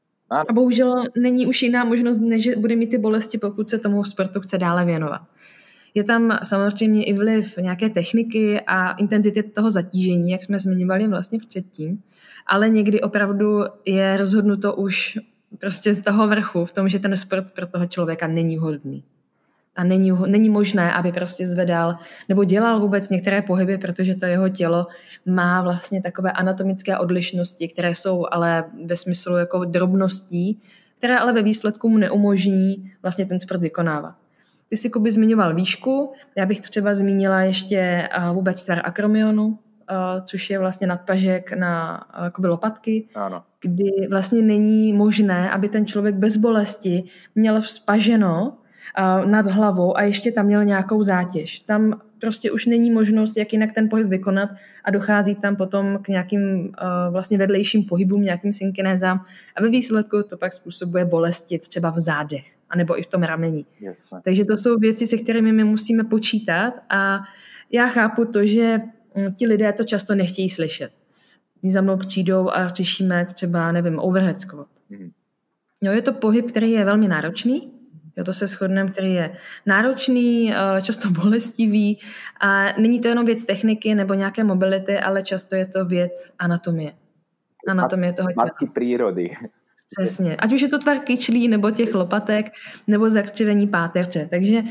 A bohužel není už jiná možnost, než že bude mít ty bolesti, pokud se tomu sportu chce dále věnovat. Je tam samozřejmě i vliv nějaké techniky a intenzity toho zatížení, jak jsme zmiňovali vlastně předtím, ale někdy opravdu je rozhodnuto už prostě z toho vrchu v tom, že ten sport pro toho člověka není vhodný. A není, není možné, aby prostě zvedal nebo dělal vůbec některé pohyby, protože to jeho tělo má vlastně takové anatomické odlišnosti, které jsou ale ve smyslu jako drobností, které ale ve výsledku mu neumožní vlastně ten sport vykonávat. Ty jsi, Kuby, zmiňoval výšku, já bych třeba zmínila ještě vůbec tvar akromionu, což je vlastně nadpažek na jakoby lopatky, ano. Kdy vlastně není možné, aby ten člověk bez bolesti měl vzpaženo nad hlavou a ještě tam měl nějakou zátěž. Tam prostě už není možnost, jak jinak ten pohyb vykonat a dochází tam potom k nějakým uh, vlastně vedlejším pohybům, nějakým synkinézám a ve výsledku to pak způsobuje bolesti třeba v zádech anebo i v tom rameni. Jasne. Takže to jsou věci, se kterými my musíme počítat a já chápu to, že ti lidé to často nechtějí slyšet. Když za mnou přijdou a řešíme třeba, nevím, overhead squat. Mm. Jo, je to pohyb, který je velmi náročný, jo, to se shodneme, který je náročný, často bolestivý a není to jenom věc techniky nebo nějaké mobility, ale často je to věc anatomie. Anatomie toho těla. Matky prírody. Přesně. Ať už je to tvar kyčlí, nebo těch lopatek, nebo zakřivení páteře. Takže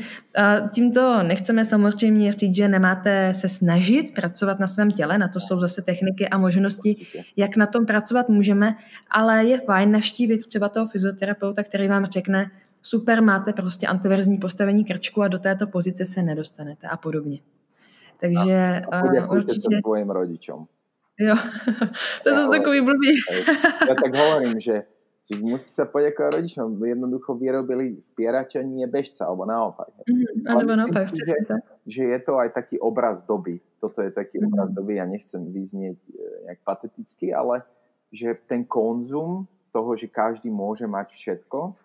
tímto nechceme samozřejmě říct, že nemáte se snažit pracovat na svém těle, na to jsou zase techniky a možnosti, jak na tom pracovat můžeme, ale je fajn navštívit třeba toho fyzioterapeuta, který vám řekne, super, máte prostě antiverzní postavení krčku a do této pozice se nedostanete a podobně. Takže a uh, určitě... svojim rodičom. Jo, to je zase takový blbý. Ja tak hovorím, že musí sa poďakovať rodičom, jednoducho vyrobili spierača, nie bežca, alebo naopak. Mm, alebo naopak, si, že, že je to aj taký obraz doby. Toto je taký mm. obraz doby, ja nechcem vyznieť nejak pateticky, ale že ten konzum toho, že každý môže mať všetko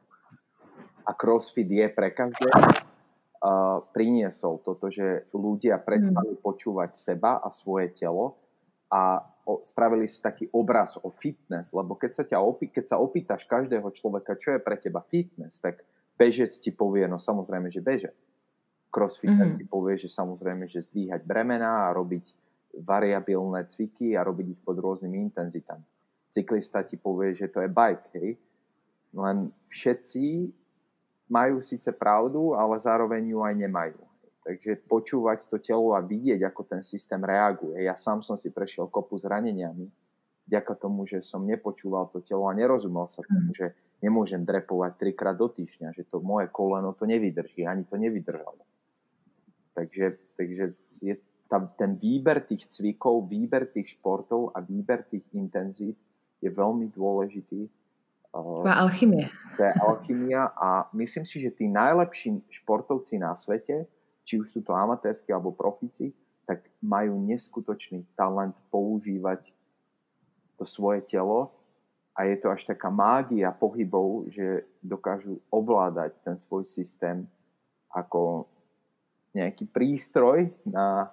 a crossfit je pre každého, uh, priniesol toto, že ľudia prestali mm. počúvať seba a svoje telo a o, spravili si taký obraz o fitness, lebo keď sa, ťa opý, keď sa opýtaš každého človeka, čo je pre teba fitness, tak bežec ti povie, no samozrejme, že beže. Crossfitter mm-hmm. ti povie, že samozrejme, že zdvíhať bremená a robiť variabilné cviky a robiť ich pod rôznymi intenzitami. Cyklista ti povie, že to je bike, hej? Len všetci majú síce pravdu, ale zároveň ju aj nemajú. Takže počúvať to telo a vidieť, ako ten systém reaguje. Ja sám som si prešiel kopu zraneniami, vďaka tomu, že som nepočúval to telo a nerozumel sa tomu, že nemôžem drepovať trikrát do týždňa, že to moje koleno to nevydrží, ani to nevydržalo. Takže, takže je tam ten výber tých cvikov, výber tých športov a výber tých intenzít je veľmi dôležitý. To je alchymia. To je alchymia a myslím si, že tí najlepší športovci na svete, či už sú to amatérski alebo profíci, tak majú neskutočný talent používať to svoje telo a je to až taká mágia pohybov, že dokážu ovládať ten svoj systém ako nejaký prístroj na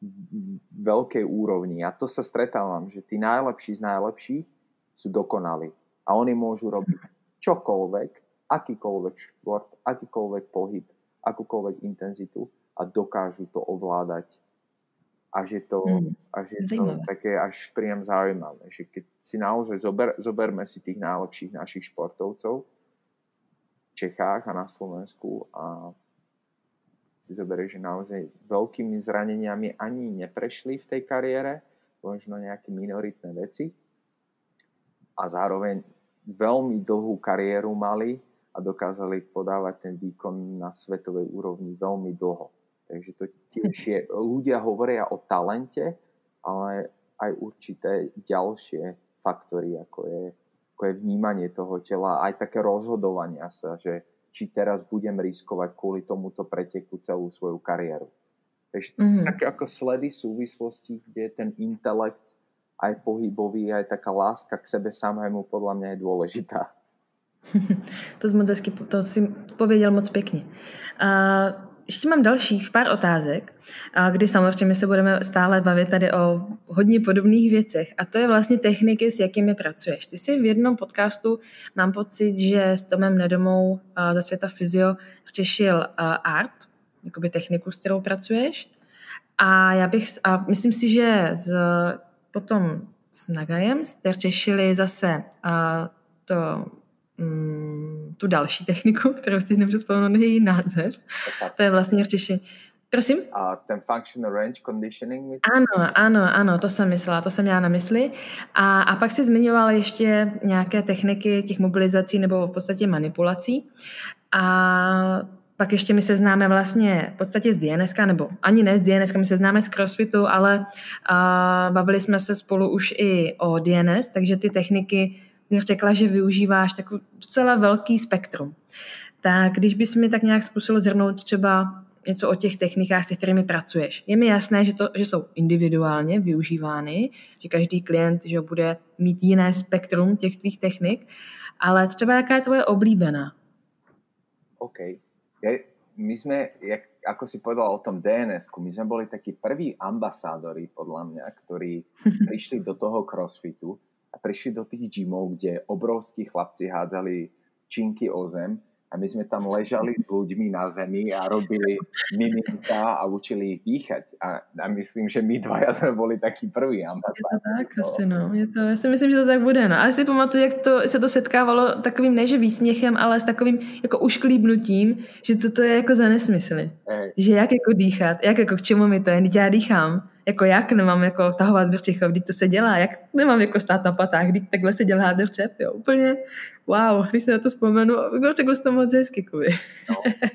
veľkej úrovni. A to sa stretávam, že tí najlepší z najlepších sú dokonali. A oni môžu robiť čokoľvek, akýkoľvek šport, akýkoľvek pohyb akúkoľvek intenzitu a dokážu to ovládať. Až je to, mm. až je to také až priam zaujímavé, že keď si naozaj zober, zoberme si tých najlepších našich športovcov v Čechách a na Slovensku a si zoberie, že naozaj veľkými zraneniami ani neprešli v tej kariére, možno nejaké minoritné veci a zároveň veľmi dlhú kariéru mali a dokázali podávať ten výkon na svetovej úrovni veľmi dlho. Takže to tiež je, ľudia hovoria o talente, ale aj určité ďalšie faktory, ako je, ako je vnímanie toho tela, aj také rozhodovania sa, že či teraz budem riskovať kvôli tomuto preteku celú svoju kariéru. Takže mm-hmm. také ako sledy súvislosti, kde ten intelekt aj pohybový, aj taká láska k sebe samému podľa mňa je dôležitá. To, moc hezky, to si pověděl moc pěkně. Uh, ještě mám dalších pár otázek, uh, kdy samozřejmě se budeme stále bavit tady o hodně podobných věcech. A to je vlastně techniky, s jakými pracuješ. Ty jsi v jednom podcastu, mám pocit, že s Tomem Nedomou uh, ze Světa Fyzio řešil uh, art, jakoby techniku, s kterou pracuješ. A já bych, a myslím si, že z, potom s Nagajem jste řešili zase uh, to Mm, tu další techniku, kterou si nemůžu vzpomenout její název. To je vlastně řešení. Prosím? A ten functional range conditioning? Ano, ano, ano, to jsem myslela, to jsem měla na mysli. A, a pak si zmiňovala ještě nějaké techniky těch mobilizací nebo v podstatě manipulací. A pak ještě my se známe vlastně v podstatě z D N S ka, nebo ani ne z D N S ka, my se známe z CrossFitu, ale a, bavili jsme se spolu už i o D N S, takže ty techniky bych řekla, že využíváš takový docela velký spektrum. Tak když bys mi tak nějak zkusil zhrnout třeba něco o těch technikách, se kterými pracuješ. Je mi jasné, že, to, že jsou individuálně využívány, že každý klient že bude mít jiné spektrum těch tvých technik, ale třeba jaká je tvoje oblíbená? OK. Ja, my sme, jak, ako si povedal o tom D N S-ku, my sme boli takí prví ambasádori, podľa mňa, ktorí prišli do toho crossfitu a prišli do tých gymov, kde obrovskí chlapci hádzali činky o zem a my sme tam ležali s ľuďmi na zemi a robili miminka a učili ich dýchať. A, a myslím, že my dvaja sme boli takí prví ambasádori. Je to tak asi, no. Je to, já si myslím, že to tak bude, no. A si pamatuju, jak to, se to setkávalo takovým, ne že výsměchem, ale s takovým jako ušklíbnutím, že co to je jako za nesmysly. Ej. Že jak jako dýchat, jak jako k čemu mi to je, když já dýchám. Jako jak nemám jako vtahovat břicho, když to se dělá, jak nemám jako stát na patách, když takhle se dělá dřep, jo, úplně wow, když se na to vzpomenu, řekl jsi to moc hezky, Kuby. No.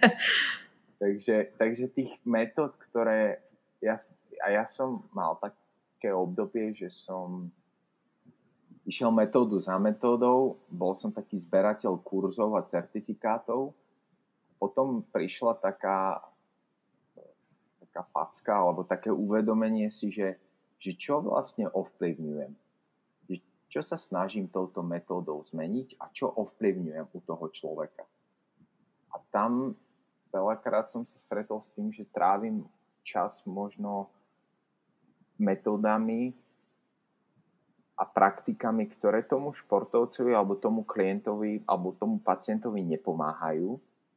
takže, takže tých metód, ktoré ja, a ja som mal také obdobie, že som išiel metódu za metódou, bol som taký zberateľ kurzov a certifikátov, potom prišla taká taká facka, alebo také uvedomenie si, že, že čo vlastne ovplyvňujem. Čo sa snažím touto metódou zmeniť a čo ovplyvňujem u toho človeka. A tam veľakrát som sa stretol s tým, že trávim čas možno metódami a praktikami, ktoré tomu športovcovi alebo tomu klientovi alebo tomu pacientovi nepomáhajú.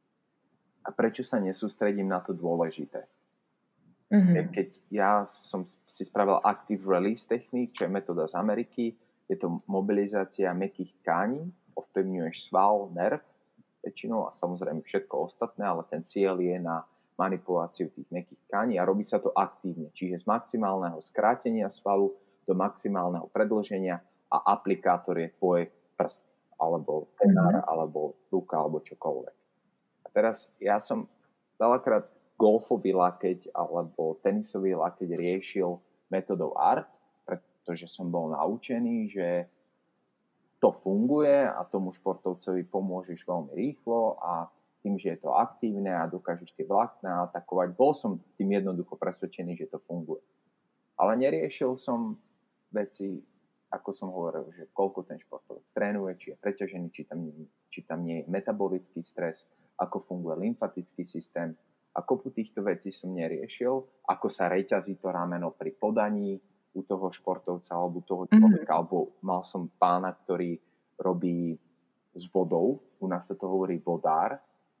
A prečo sa nesústredím na to dôležité? Mm-hmm. Keď ja som si spravil Active Release Technique, čo je metóda z Ameriky, je to mobilizácia mäkkých tkání, ovplyvňuješ sval, nerv väčšinou a samozrejme všetko ostatné, ale ten cieľ je na manipuláciu tých mäkkých tkání a robí sa to aktívne, čiže z maximálneho skrátenia svalu do maximálneho predĺženia a aplikátor je tvoj prst, alebo penár, mm-hmm. alebo ruka, alebo čokoľvek. A teraz ja som veľakrát golfový lakeť alebo tenisový lakeť riešil metodou art, pretože som bol naučený, že to funguje a tomu športovcovi pomôžeš veľmi rýchlo a tým, že je to aktívne a dokážeš tie vlákna atakovať, bol som tým jednoducho presvedčený, že to funguje. Ale neriešil som veci, ako som hovoril, že koľko ten športovec trénuje, či je preťažený, či tam, či tam nie je metabolický stres, ako funguje lymfatický systém. A kopu týchto vecí som neriešil, ako sa reťazí to rameno pri podaní u toho športovca alebo toho človeka, mm-hmm. alebo mal som pána, ktorý robí s vodou, u nás sa to hovorí vodár,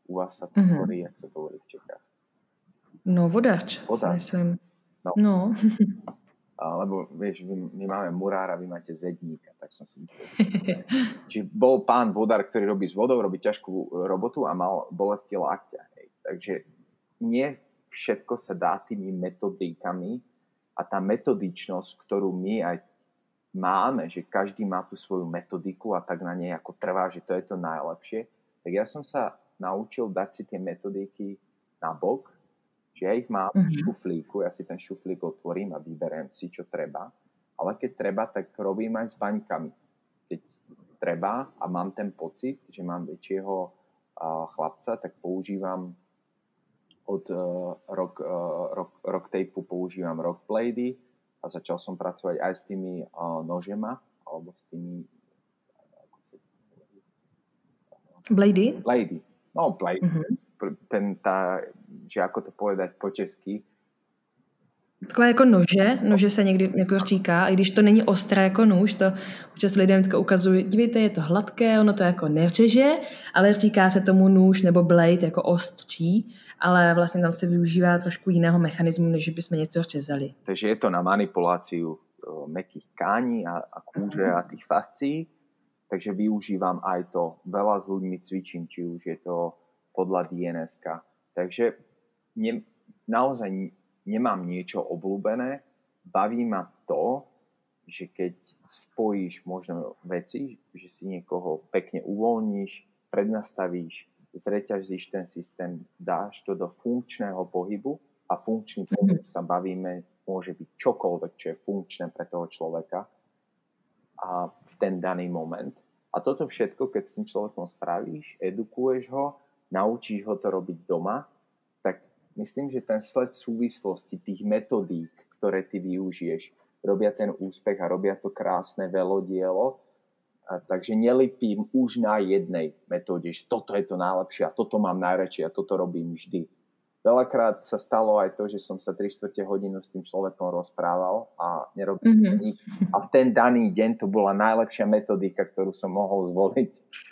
U vás sa to mm-hmm. hovorí, jak sa to hovorí v Čechách? No, vodač. Vodač. No. no. Lebo vieš, my, my máme murára, vy máte zedníka, tak som si myslel. Čiže bol pán vodár, ktorý robí s vodou, robí ťažkú robotu a mal bolesti lakťa. Hej. Takže nie všetko sa dá tými metodikami a tá metodičnosť, ktorú my aj máme, že každý má tú svoju metodiku a tak na nej ako trvá, že to je to najlepšie, tak ja som sa naučil dať si tie metodiky na bok, že ja ich mám v šuflíku, ja si ten šuflík otvorím a vyberiem si, čo treba. Ale keď treba, tak robím aj s baňkami. Keď treba a mám ten pocit, že mám väčšieho uh, chlapca, tak používam od uh, rock, uh, rock, rock tapeu používam rock blady a začal som pracovať aj s tými uh, nožema, alebo s tými... Ako sa blady? Blady. No, blady. Uh-huh. Ten, tá, že ako to povedať po česky. Takové jako nože, nože se někdy jako říká, i když to není ostré jako nůž, to občas lidem vždycky ukazují, dívejte, je to hladké, ono to jako neřeže, ale říká se tomu nůž nebo blade jako ostří, ale vlastně tam se využívá trošku jiného mechanismu, než bychom něco řezali. Takže je to na manipuláciu mäkkých tkání a, a kůže a tých fascií, takže využívam aj to. Veľa s ľuďmi cvičím, či už je to podľa dé en eska. Takže ne, naozaj nemám niečo obľúbené. Baví ma to, že keď spojíš možno veci, že si niekoho pekne uvoľníš, prednastavíš, zreťazíš ten systém, dáš to do funkčného pohybu a funkčný pohyb sa bavíme, môže byť čokoľvek, čo je funkčné pre toho človeka a v ten daný moment. A toto všetko, keď s tým človekom spravíš, edukuješ ho, naučíš ho to robiť doma, tak myslím, že ten sled súvislosti tých metodík, ktoré ty využiješ, robia ten úspech a robia to krásne velodielo. A takže nelipím už na jednej metóde, že toto je to najlepšie a toto mám najradšej a toto robím vždy. Veľakrát sa stalo aj to, že som sa tri štvrte hodinu s tým človekom rozprával a nerobil mm-hmm. nič. A v ten daný deň to bola najlepšia metodika, ktorú som mohol zvoliť.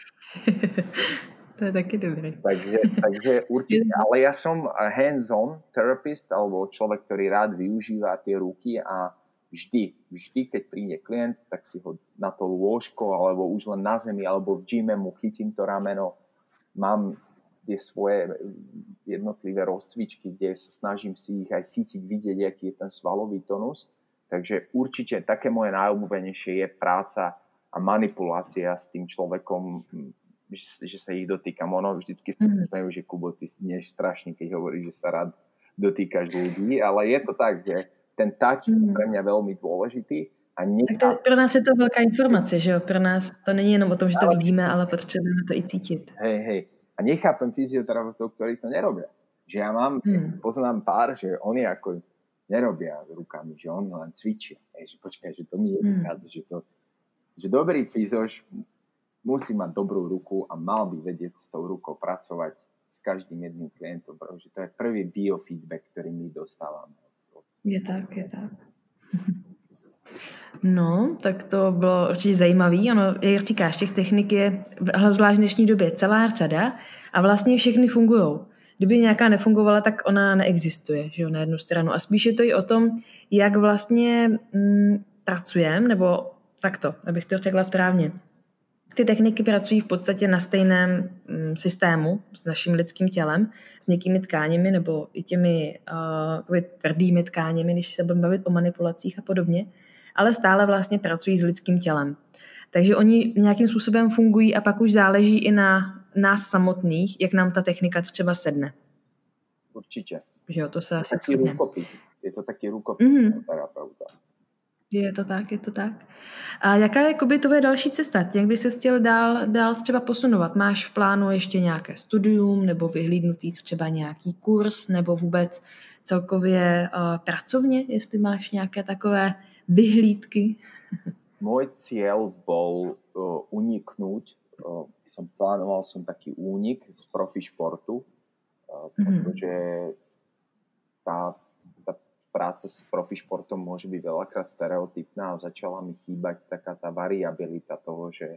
To je taky dobré. Takže, takže určite, ale ja som hands-on therapist, alebo človek, ktorý rád využíva tie ruky a vždy, vždy, keď príde klient, tak si ho na to lôžko, alebo už len na zemi, alebo v gyme mu chytím to rameno. Mám tie svoje jednotlivé rozcvičky, kde sa snažím si ich aj chytiť, vidieť, aký je ten svalový tonus. Takže určite také moje najobľúbenejšie je práca a manipulácia s tým človekom, že, že sa ich dotýkam. Ono vždycky sa mm. smejú, že Kubo, ty dneš strašne, keď hovoríš, že sa rád dotýkaš ľudí, ale je to tak, že ten touch mm. je pre mňa veľmi dôležitý. A nechá... Tak to, pro nás je to velká informace, že jo? Pro nás to není jenom o tom, že to ale... vidíme, ale potřebujeme to i cítit. Hej, hej. A nechápem fyzioterapeutov, ktorí to nerobia. Že ja mám, mm. poznám pár, že oni ako nerobia rukami, že oni len cvičia. Hej, že počkaj, že to mi nevychádza, mm. že to, že dobrý fyzoš musí mať dobrú ruku a mal by vedieť s tou rukou pracovať s každým jedným klientom, pretože to je prvý biofeedback, ktorý my dostávame. Je tak, je tak. No, tak to bylo určitě zajímavý. Ono, jak říkáš, těch technik je zvlášť v dnešní době celá řada a vlastně všechny fungujou. Kdyby nějaká nefungovala, tak ona neexistuje, že jo, na jednu stranu. A spíš je to i o tom, jak vlastně mm, pracujeme, nebo takto, abych to řekla správně. Ty techniky pracují v podstatě na stejném mm, systému s naším lidským tělem, s někými tkáněmi nebo i těmi uh, tvrdými tkáněmi, když se budeme bavit o manipulacích a podobně, ale stále vlastně pracují s lidským tělem. Takže oni nějakým způsobem fungují a pak už záleží i na nás samotných, jak nám ta technika třeba sedne. Určitě. Že jo, to se asi shodneme. Je to taky rukopis mm-hmm. terapeuta. Je to tak, je to tak. A jaká je jakoby tvoje další cesta? Jak by se chtěl dál, dál třeba posunovat? Máš v plánu ještě nějaké studium nebo vyhlídnutý třeba nějaký kurz nebo vůbec celkově uh, pracovně, jestli máš nějaké takové vyhlídky? Môj cieľ bol uh, uniknúť. Uh, som plánoval som taký únik z profi športu, uh, mm-hmm. pretože tá práca s profi športom môže byť veľakrát stereotypná a začala mi chýbať taká tá variabilita toho, že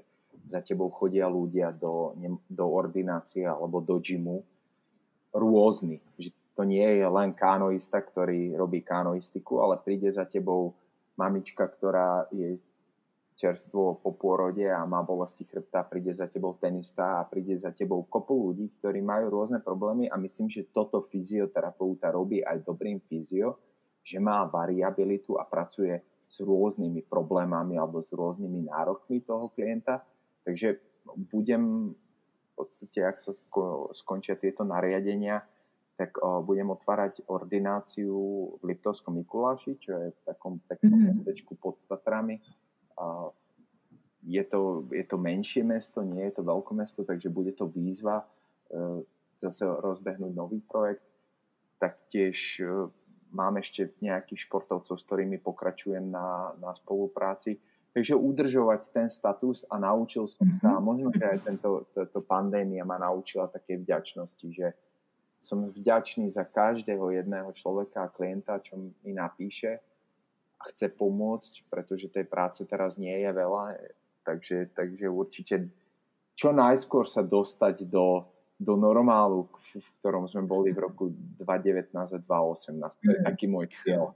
za tebou chodia ľudia do, do ordinácie alebo do gymu rôzny. Že to nie je len kánoista, ktorý robí kánoistiku, ale príde za tebou mamička, ktorá je čerstvo po pôrode a má bolesti chrbta, príde za tebou tenista a príde za tebou kopu ľudí, ktorí majú rôzne problémy a myslím, že toto fyzioterapeuta robí aj dobrým fyzio, že má variabilitu a pracuje s rôznymi problémami alebo s rôznymi nárokmi toho klienta. Takže budem v podstate, ak sa skončia tieto nariadenia, tak o, budem otvárať ordináciu v Liptovskom Mikuláši, čo je v takom peknom mm-hmm. mestečku pod Tatrami. A je, to, je to menšie mesto, nie je to veľkomesto, takže bude to výzva e, zase rozbehnúť nový projekt. Taktiež e, mám ešte nejakých športovcov, s ktorými pokračujem na, na spolupráci. Takže udržovať ten status a naučil som sa, a možno, že aj tento, to, pandémia ma naučila také vďačnosti, že som vďačný za každého jedného človeka a klienta, čo mi napíše a chce pomôcť, pretože tej práce teraz nie je veľa, takže, takže určite čo najskôr sa dostať do, do normálu, v ktorom sme boli v roku dvetisícdevätnásť a dvetisícosemnásť. To je taký môj cieľ.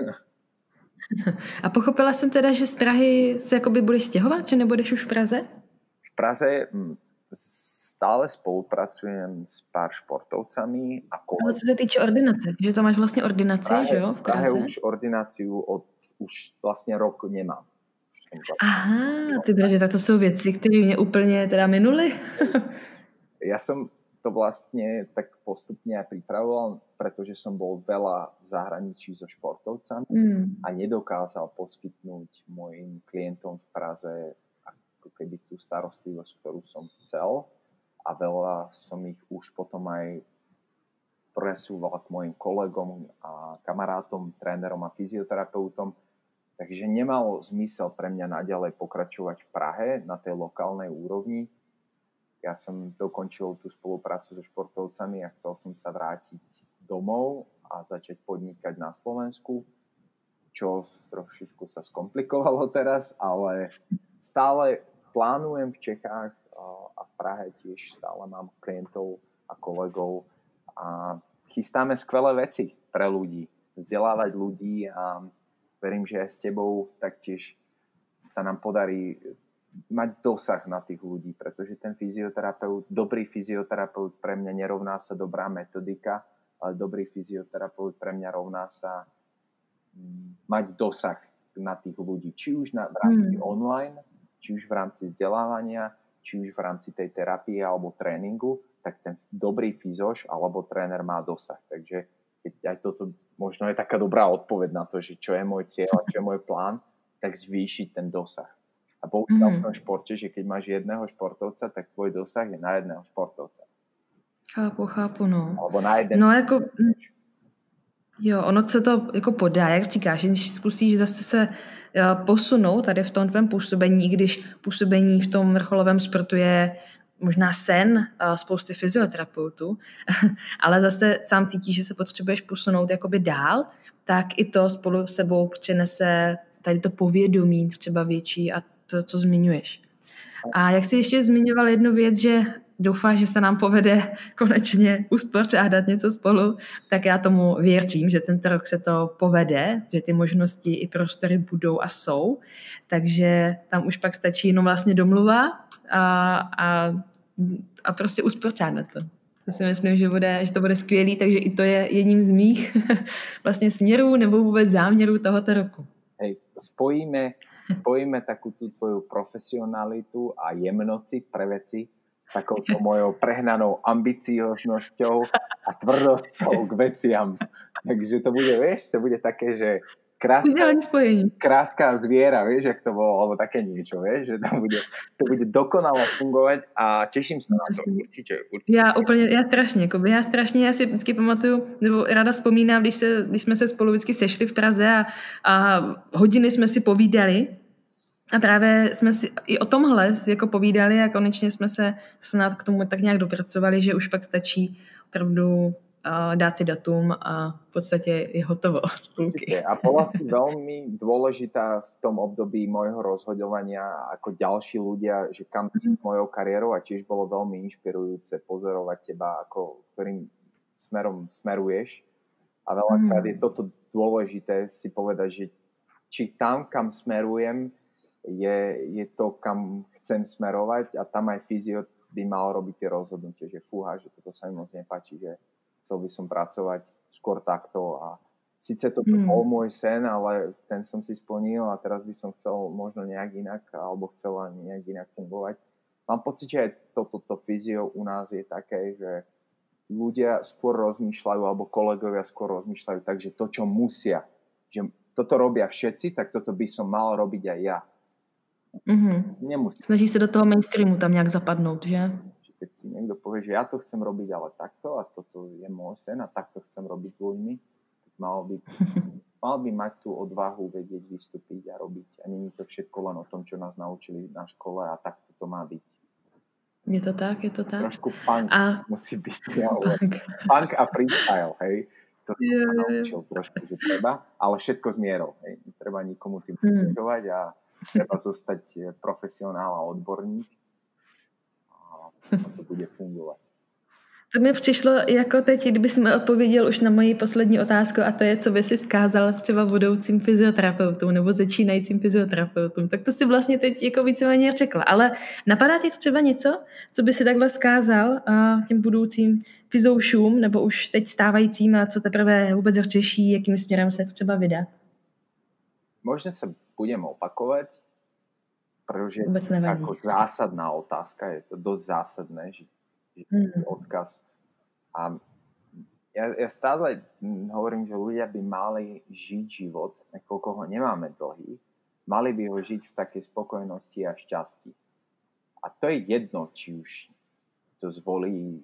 A pochopila jsem teda, že z Prahy se jakoby budeš stěhovat, že nebudeš už v Praze? V Praze stále spolupracujem s pár športovcami. A ale co se týče ordinace, že to máš vlastně ordinaci, Prahe, že jo, v Praze? V Prahe už ordináciu od, už vlastně rok nemám. Aha, ty braže, tak to jsou věci, které mě úplně teda minuly. Ja som to vlastne tak postupne aj pripravoval, pretože som bol veľa v zahraničí so športovcami mm. a nedokázal poskytnúť mojim klientom v Praze ako keby tú starostlivosť, ktorú som chcel, a veľa som ich už potom aj presúval k mojim kolegom a kamarátom, trénerom a fyzioterapeutom. Takže nemalo zmysel pre mňa naďalej pokračovať v Prahe na tej lokálnej úrovni. Ja som dokončil tú spoluprácu so športovcami a chcel som sa vrátiť domov a začať podnikať na Slovensku, čo trošičku sa skomplikovalo teraz, ale stále plánujem v Čechách a v Prahe tiež stále mám klientov a kolegov a chystáme skvelé veci pre ľudí, vzdelávať ľudí a verím, že aj s tebou taktiež sa nám podarí mať dosah na tých ľudí, pretože ten fyzioterapeut, dobrý fyzioterapeut pre mňa nerovná sa dobrá metodika, ale dobrý fyzioterapeut pre mňa rovná sa mať dosah na tých ľudí, či už na, v rámci mm. online, či už v rámci vzdelávania, či už v rámci tej terapie alebo tréningu, tak ten dobrý fyzoš alebo tréner má dosah. Takže keď aj toto možno je taká dobrá odpoveď na to, že čo je môj cieľ a čo je môj plán, tak zvýšiť ten dosah. A bohužiaľ mm. v tom športe, že keď máš jedného športovca, tak tvoj dosah je na jedného športovca. Chápu, chápu, no. Alebo na jeden. No jako, jo, ono se to jako podá, jak říkáš, když zkusíš zase se posunout tady v tom tvém působení, když působení v tom vrcholovém sportu je možná sen spousty fyzioterapeutů, ale zase sám cítíš, že se potřebuješ posunout jakoby dál, tak i to spolu s sebou přinese tady to povědomí třeba větší a to, co zmiňuješ. A jak jsi ještě zmiňoval jednu věc, že doufáš, že se nám povede konečně uspořádat něco spolu, tak já tomu věřím, že tento rok se to povede, že ty možnosti i prostory budou a jsou, takže tam už pak stačí jenom vlastně domluva a, a, a prostě uspořádat to. To si myslím, že, bude, že to bude skvělý, takže i to je jedním z mých vlastně směrů nebo vůbec záměrů tohoto roku. Hej, spojíme, spojíme takú tú tvoju profesionalitu a jemnocit pre veci s takouto mojou prehnanou ambicioznosťou a tvrdosťou k veciam. Takže to bude, vieš, to bude také, že kráska, kráska zviera, vieš, jak to bolo, alebo také niečo, vieš, že to bude, to bude dokonale fungovať a teším sa na to. Určite, určite. Já úplně, já strašně, jakoby, já strašně, já si vždycky pamatuju, nebo ráda vzpomínám, když, se, když jsme se spolu vždycky sešli v Praze a, a hodiny jsme si povídali a právě jsme si i o tomhle jako povídali a konečně jsme se snad k tomu tak nějak dopracovali, že už pak stačí opravdu dát si datum a v podstate je hotovo z půlky. A bola si veľmi dôležitá v tom období môjho rozhodovania ako ďalší ľudia, že kam ísť s mojou kariérou, a tiež bolo veľmi inšpirujúce pozorovať teba, ako, ktorým smerom smeruješ. A veľakrát je toto dôležité si povedať, že či tam, kam smerujem, je, je to, kam chcem smerovať, a tam aj fyzio by mal robiť tie rozhodnutie, že fúha, že toto sa mi moc nepáči, že chcel by som pracovať skôr takto, a síce to mm. bol môj sen, ale ten som si splnil a teraz by som chcel možno nejak inak, alebo chcela nejak inak fungovať. Mám pocit, že aj toto to, to fyzio u nás je také, že ľudia skôr rozmýšľajú, alebo kolegovia skôr rozmýšľajú tak, že to, čo musia, že toto robia všetci, tak toto by som mal robiť aj ja. Mm-hmm. Nemusí. Snaží sa do toho mainstreamu tam nejak zapadnúť, že? Keď si niekto povie, že ja to chcem robiť ale takto, a toto je môj sen a takto chcem robiť s ľuďmi, tak mal by, mal by mať tú odvahu vedieť vystúpiť a robiť. A nie je to všetko len o tom, čo nás naučili na škole, a takto to má byť. Je to tak, je to tak. Trošku punk a... musí byť. Punk. punk a freestyle, hej. To som je, sa naučil trošku, že treba, ale všetko s mierou, hej. Netreba nikomu tým ubližovať hmm. a treba zostať profesionál a odborník. To bude fungovat. To mi přišlo jako teď, kdyby jsi mi odpověděl už na moji poslední otázku, a to je, co by si vzkázal třeba budoucím fyzioterapeutům nebo začínajícím fyzioterapeutům. Tak to si vlastně teď jako víceméně řekla. Ale napadá ti třeba něco, co by si takhle vzkázal těm budoucím fyzoušům nebo už teď stávajícím, a co teprve vůbec řeší, jakým směrem se třeba vydat? Možná se budeme opakovat, protože ako zásadná otázka, je to dosť zásadné, že, že mm. odkaz. A ja, ja stále hovorím, že ľudia by mali žiť život, nakoľko ho nemáme dlhý, mali by ho žiť v takej spokojnosti a šťastí. A to je jedno, či už to zvolí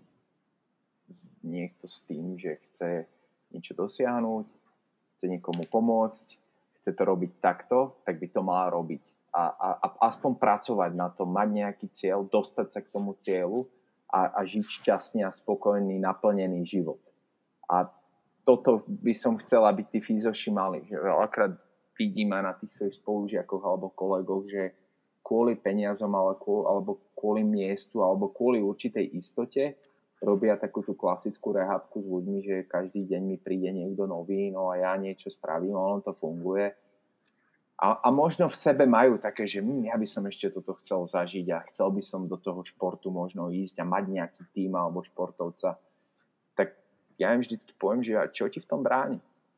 niekto s tým, že chce niečo dosiahnuť, chce niekomu pomôcť, chce to robiť takto, tak by to mal robiť. A, a, a aspoň pracovať na to, mať nejaký cieľ, dostať sa k tomu cieľu a, a žiť šťastný a spokojný, naplnený život. A toto by som chcel, aby tí fyzoši mali. Že veľakrát vidím aj na tých svojich spolužiakoch alebo kolegoch, že kvôli peniazom alebo kvôli miestu alebo kvôli určitej istote robia takú tú klasickú rehabku s ľuďmi, že každý deň mi príde niekto nový, no a ja niečo spravím, ono to funguje. A, a možno v sebe majú také, že hm, ja by som ešte toto chcel zažiť a chcel by som do toho športu možno ísť a mať nejaký tým alebo športovca. Tak ja im vždycky poviem, že čo ti v tom bráni?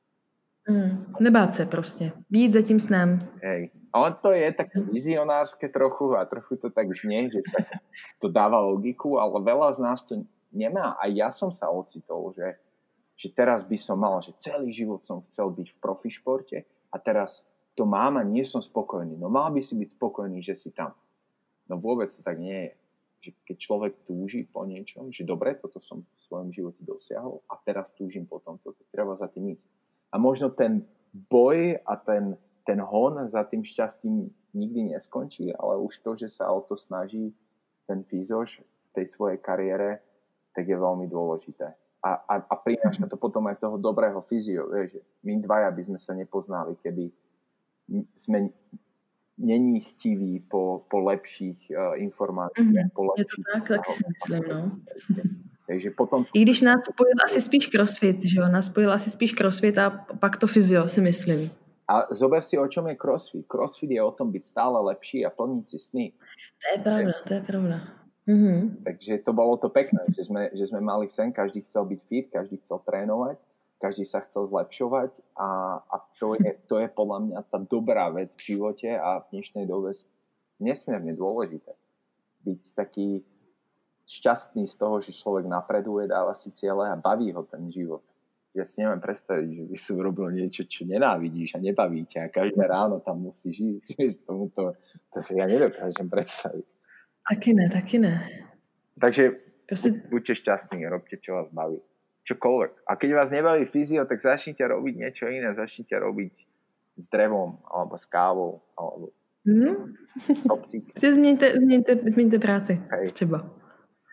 Mm, nebát se prostě. Jít za tím snem. Hej. A on to je také vizionárske trochu a trochu to tak znie, že tak to dáva logiku, ale veľa z nás to nemá. A ja som sa ocitol, že, že teraz by som mal, že celý život som chcel byť v profišporte a teraz to mám a nie som spokojný. No mal by si byť spokojný, že si tam. No vôbec to tak nie je. Že keď človek túži po niečom, že dobre, toto som v svojom živote dosiahol a teraz túžim po tomto, to treba za tým ísť. A možno ten boj a ten, ten hon za tým šťastím nikdy neskončí, ale už to, že sa o to snaží ten fyzoš v tej svojej kariére, tak je veľmi dôležité. A, a, a prináša to potom aj toho dobrého fyzio. Vieš, my dvaja by sme sa nepoznali, keby sme není chtiví po, po lepších uh, informáciách. Mm-hmm. Po lepších, je to tak, tak si myslím, no. Takže potom... I když nás spojil asi spíš crossfit, že jo? Nás spojil asi spíš crossfit a pak to fyzio, si myslím. A zober si, o čom je crossfit. Crossfit je o tom byť stále lepší a plniť si sny. To je pravda, to je pravda. Mm-hmm. Takže to bolo to pekné, že sme, že sme mali sen, každý chcel byť fit, každý chcel trénovať, každý sa chcel zlepšovať a, a to, je, to je podľa mňa tá dobrá vec v živote a v dnešnej dobe nesmierne dôležité. Byť taký šťastný z toho, že človek napreduje, dáva si ciele a baví ho ten život. Ja si neviem predstaviť, že by som robil niečo, čo nenávidíš a nebaví ťa a každé ráno tam musíš ísť. To, to si ja nedokážem predstaviť. Taky ne, taky ne. Takže Proste... buďte šťastní, robte, čo vás baví. Čokoľvek. A keď vás nebaví fyzio, tak začnite robiť niečo iné. Začnite robiť s drevom, alebo s kávou, alebo mm. s kopsíkom. Si změňte, změňte, změňte práci. Hej. Třeba.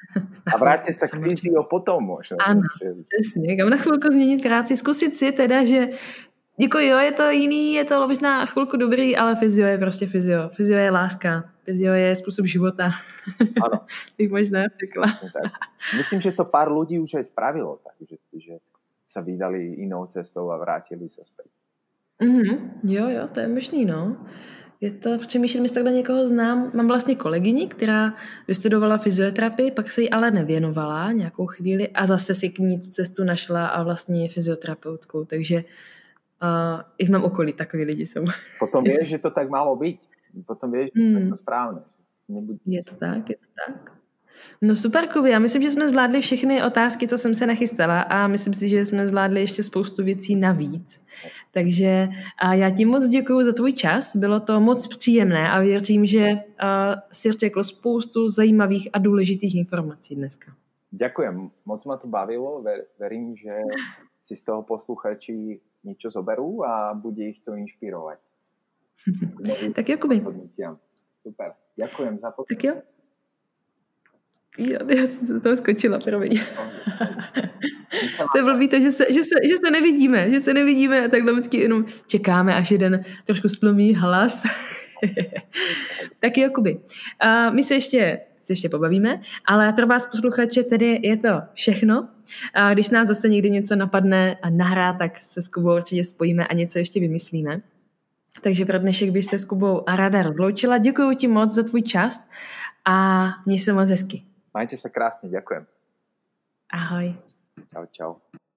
A vráťte sa k fyziu potom možno. Ano, přesně. Kam na chvilku změnit práci, zkusit si teda, že jako jo, je to jiný, je to možná chvilku dobrý, ale fyzio je prostě fyzio. Fyzio je láska. Fyzio je způsob života. Ano. Bych možná řekla. Tak. Myslím, že to pár ľudí už aj spravilo, takže že sa vydali inou cestou a vrátili sa späť. Mm-hmm. Jo, jo, to je možný, no. Je to, přemýšlím, jestli takhle někoho znám. Mám vlastně kolegyni, která vystudovala fyzioterapii, pak se jí ale nevěnovala nějakou chvíli a zase si k ní tu cestu našla a vlastně je fyzioterapeutkou, takže uh, i v mém okolí takový lidi jsou. Potom vieš, že to tak malo byť. Potom vieš, že to je to správné. Nebuď... Je to tak, je to tak. No super, Kubi, já myslím, že jsme zvládli všechny otázky, co jsem se nachystala a myslím si, že jsme zvládli ještě spoustu věcí navíc. Takže a já ti moc děkuju za tvůj čas, bylo to moc příjemné a věřím, že uh, si řekl spoustu zajímavých a důležitých informací dneska. Ďakujem, moc ma to bavilo, Ver, verím, že si z toho posluchači niečo zoberú a bude ich to inšpirovať. Tak jo, Kubi. Super, ďakujem za podcast. Tak jo. Jo, já jsem do toho skočila, promiň. To je blbý to, že se, že, se, že se nevidíme, že se nevidíme a takhle vždycky jenom čekáme, až jeden trošku stlumí hlas. Tak jo, Kubi. Uh, my se ještě, se ještě pobavíme, ale pro vás posluchače tedy je to všechno. Uh, když nás zase někdy něco napadne a nahrá, tak se s Kubou určitě spojíme a něco ještě vymyslíme. Takže pro dnešek bych se s Kubou ráda rozloučila. Děkuji ti moc za tvůj čas a měj se moc hezky. Majte sa krásne, ďakujem. Ahoj. Čau, čau.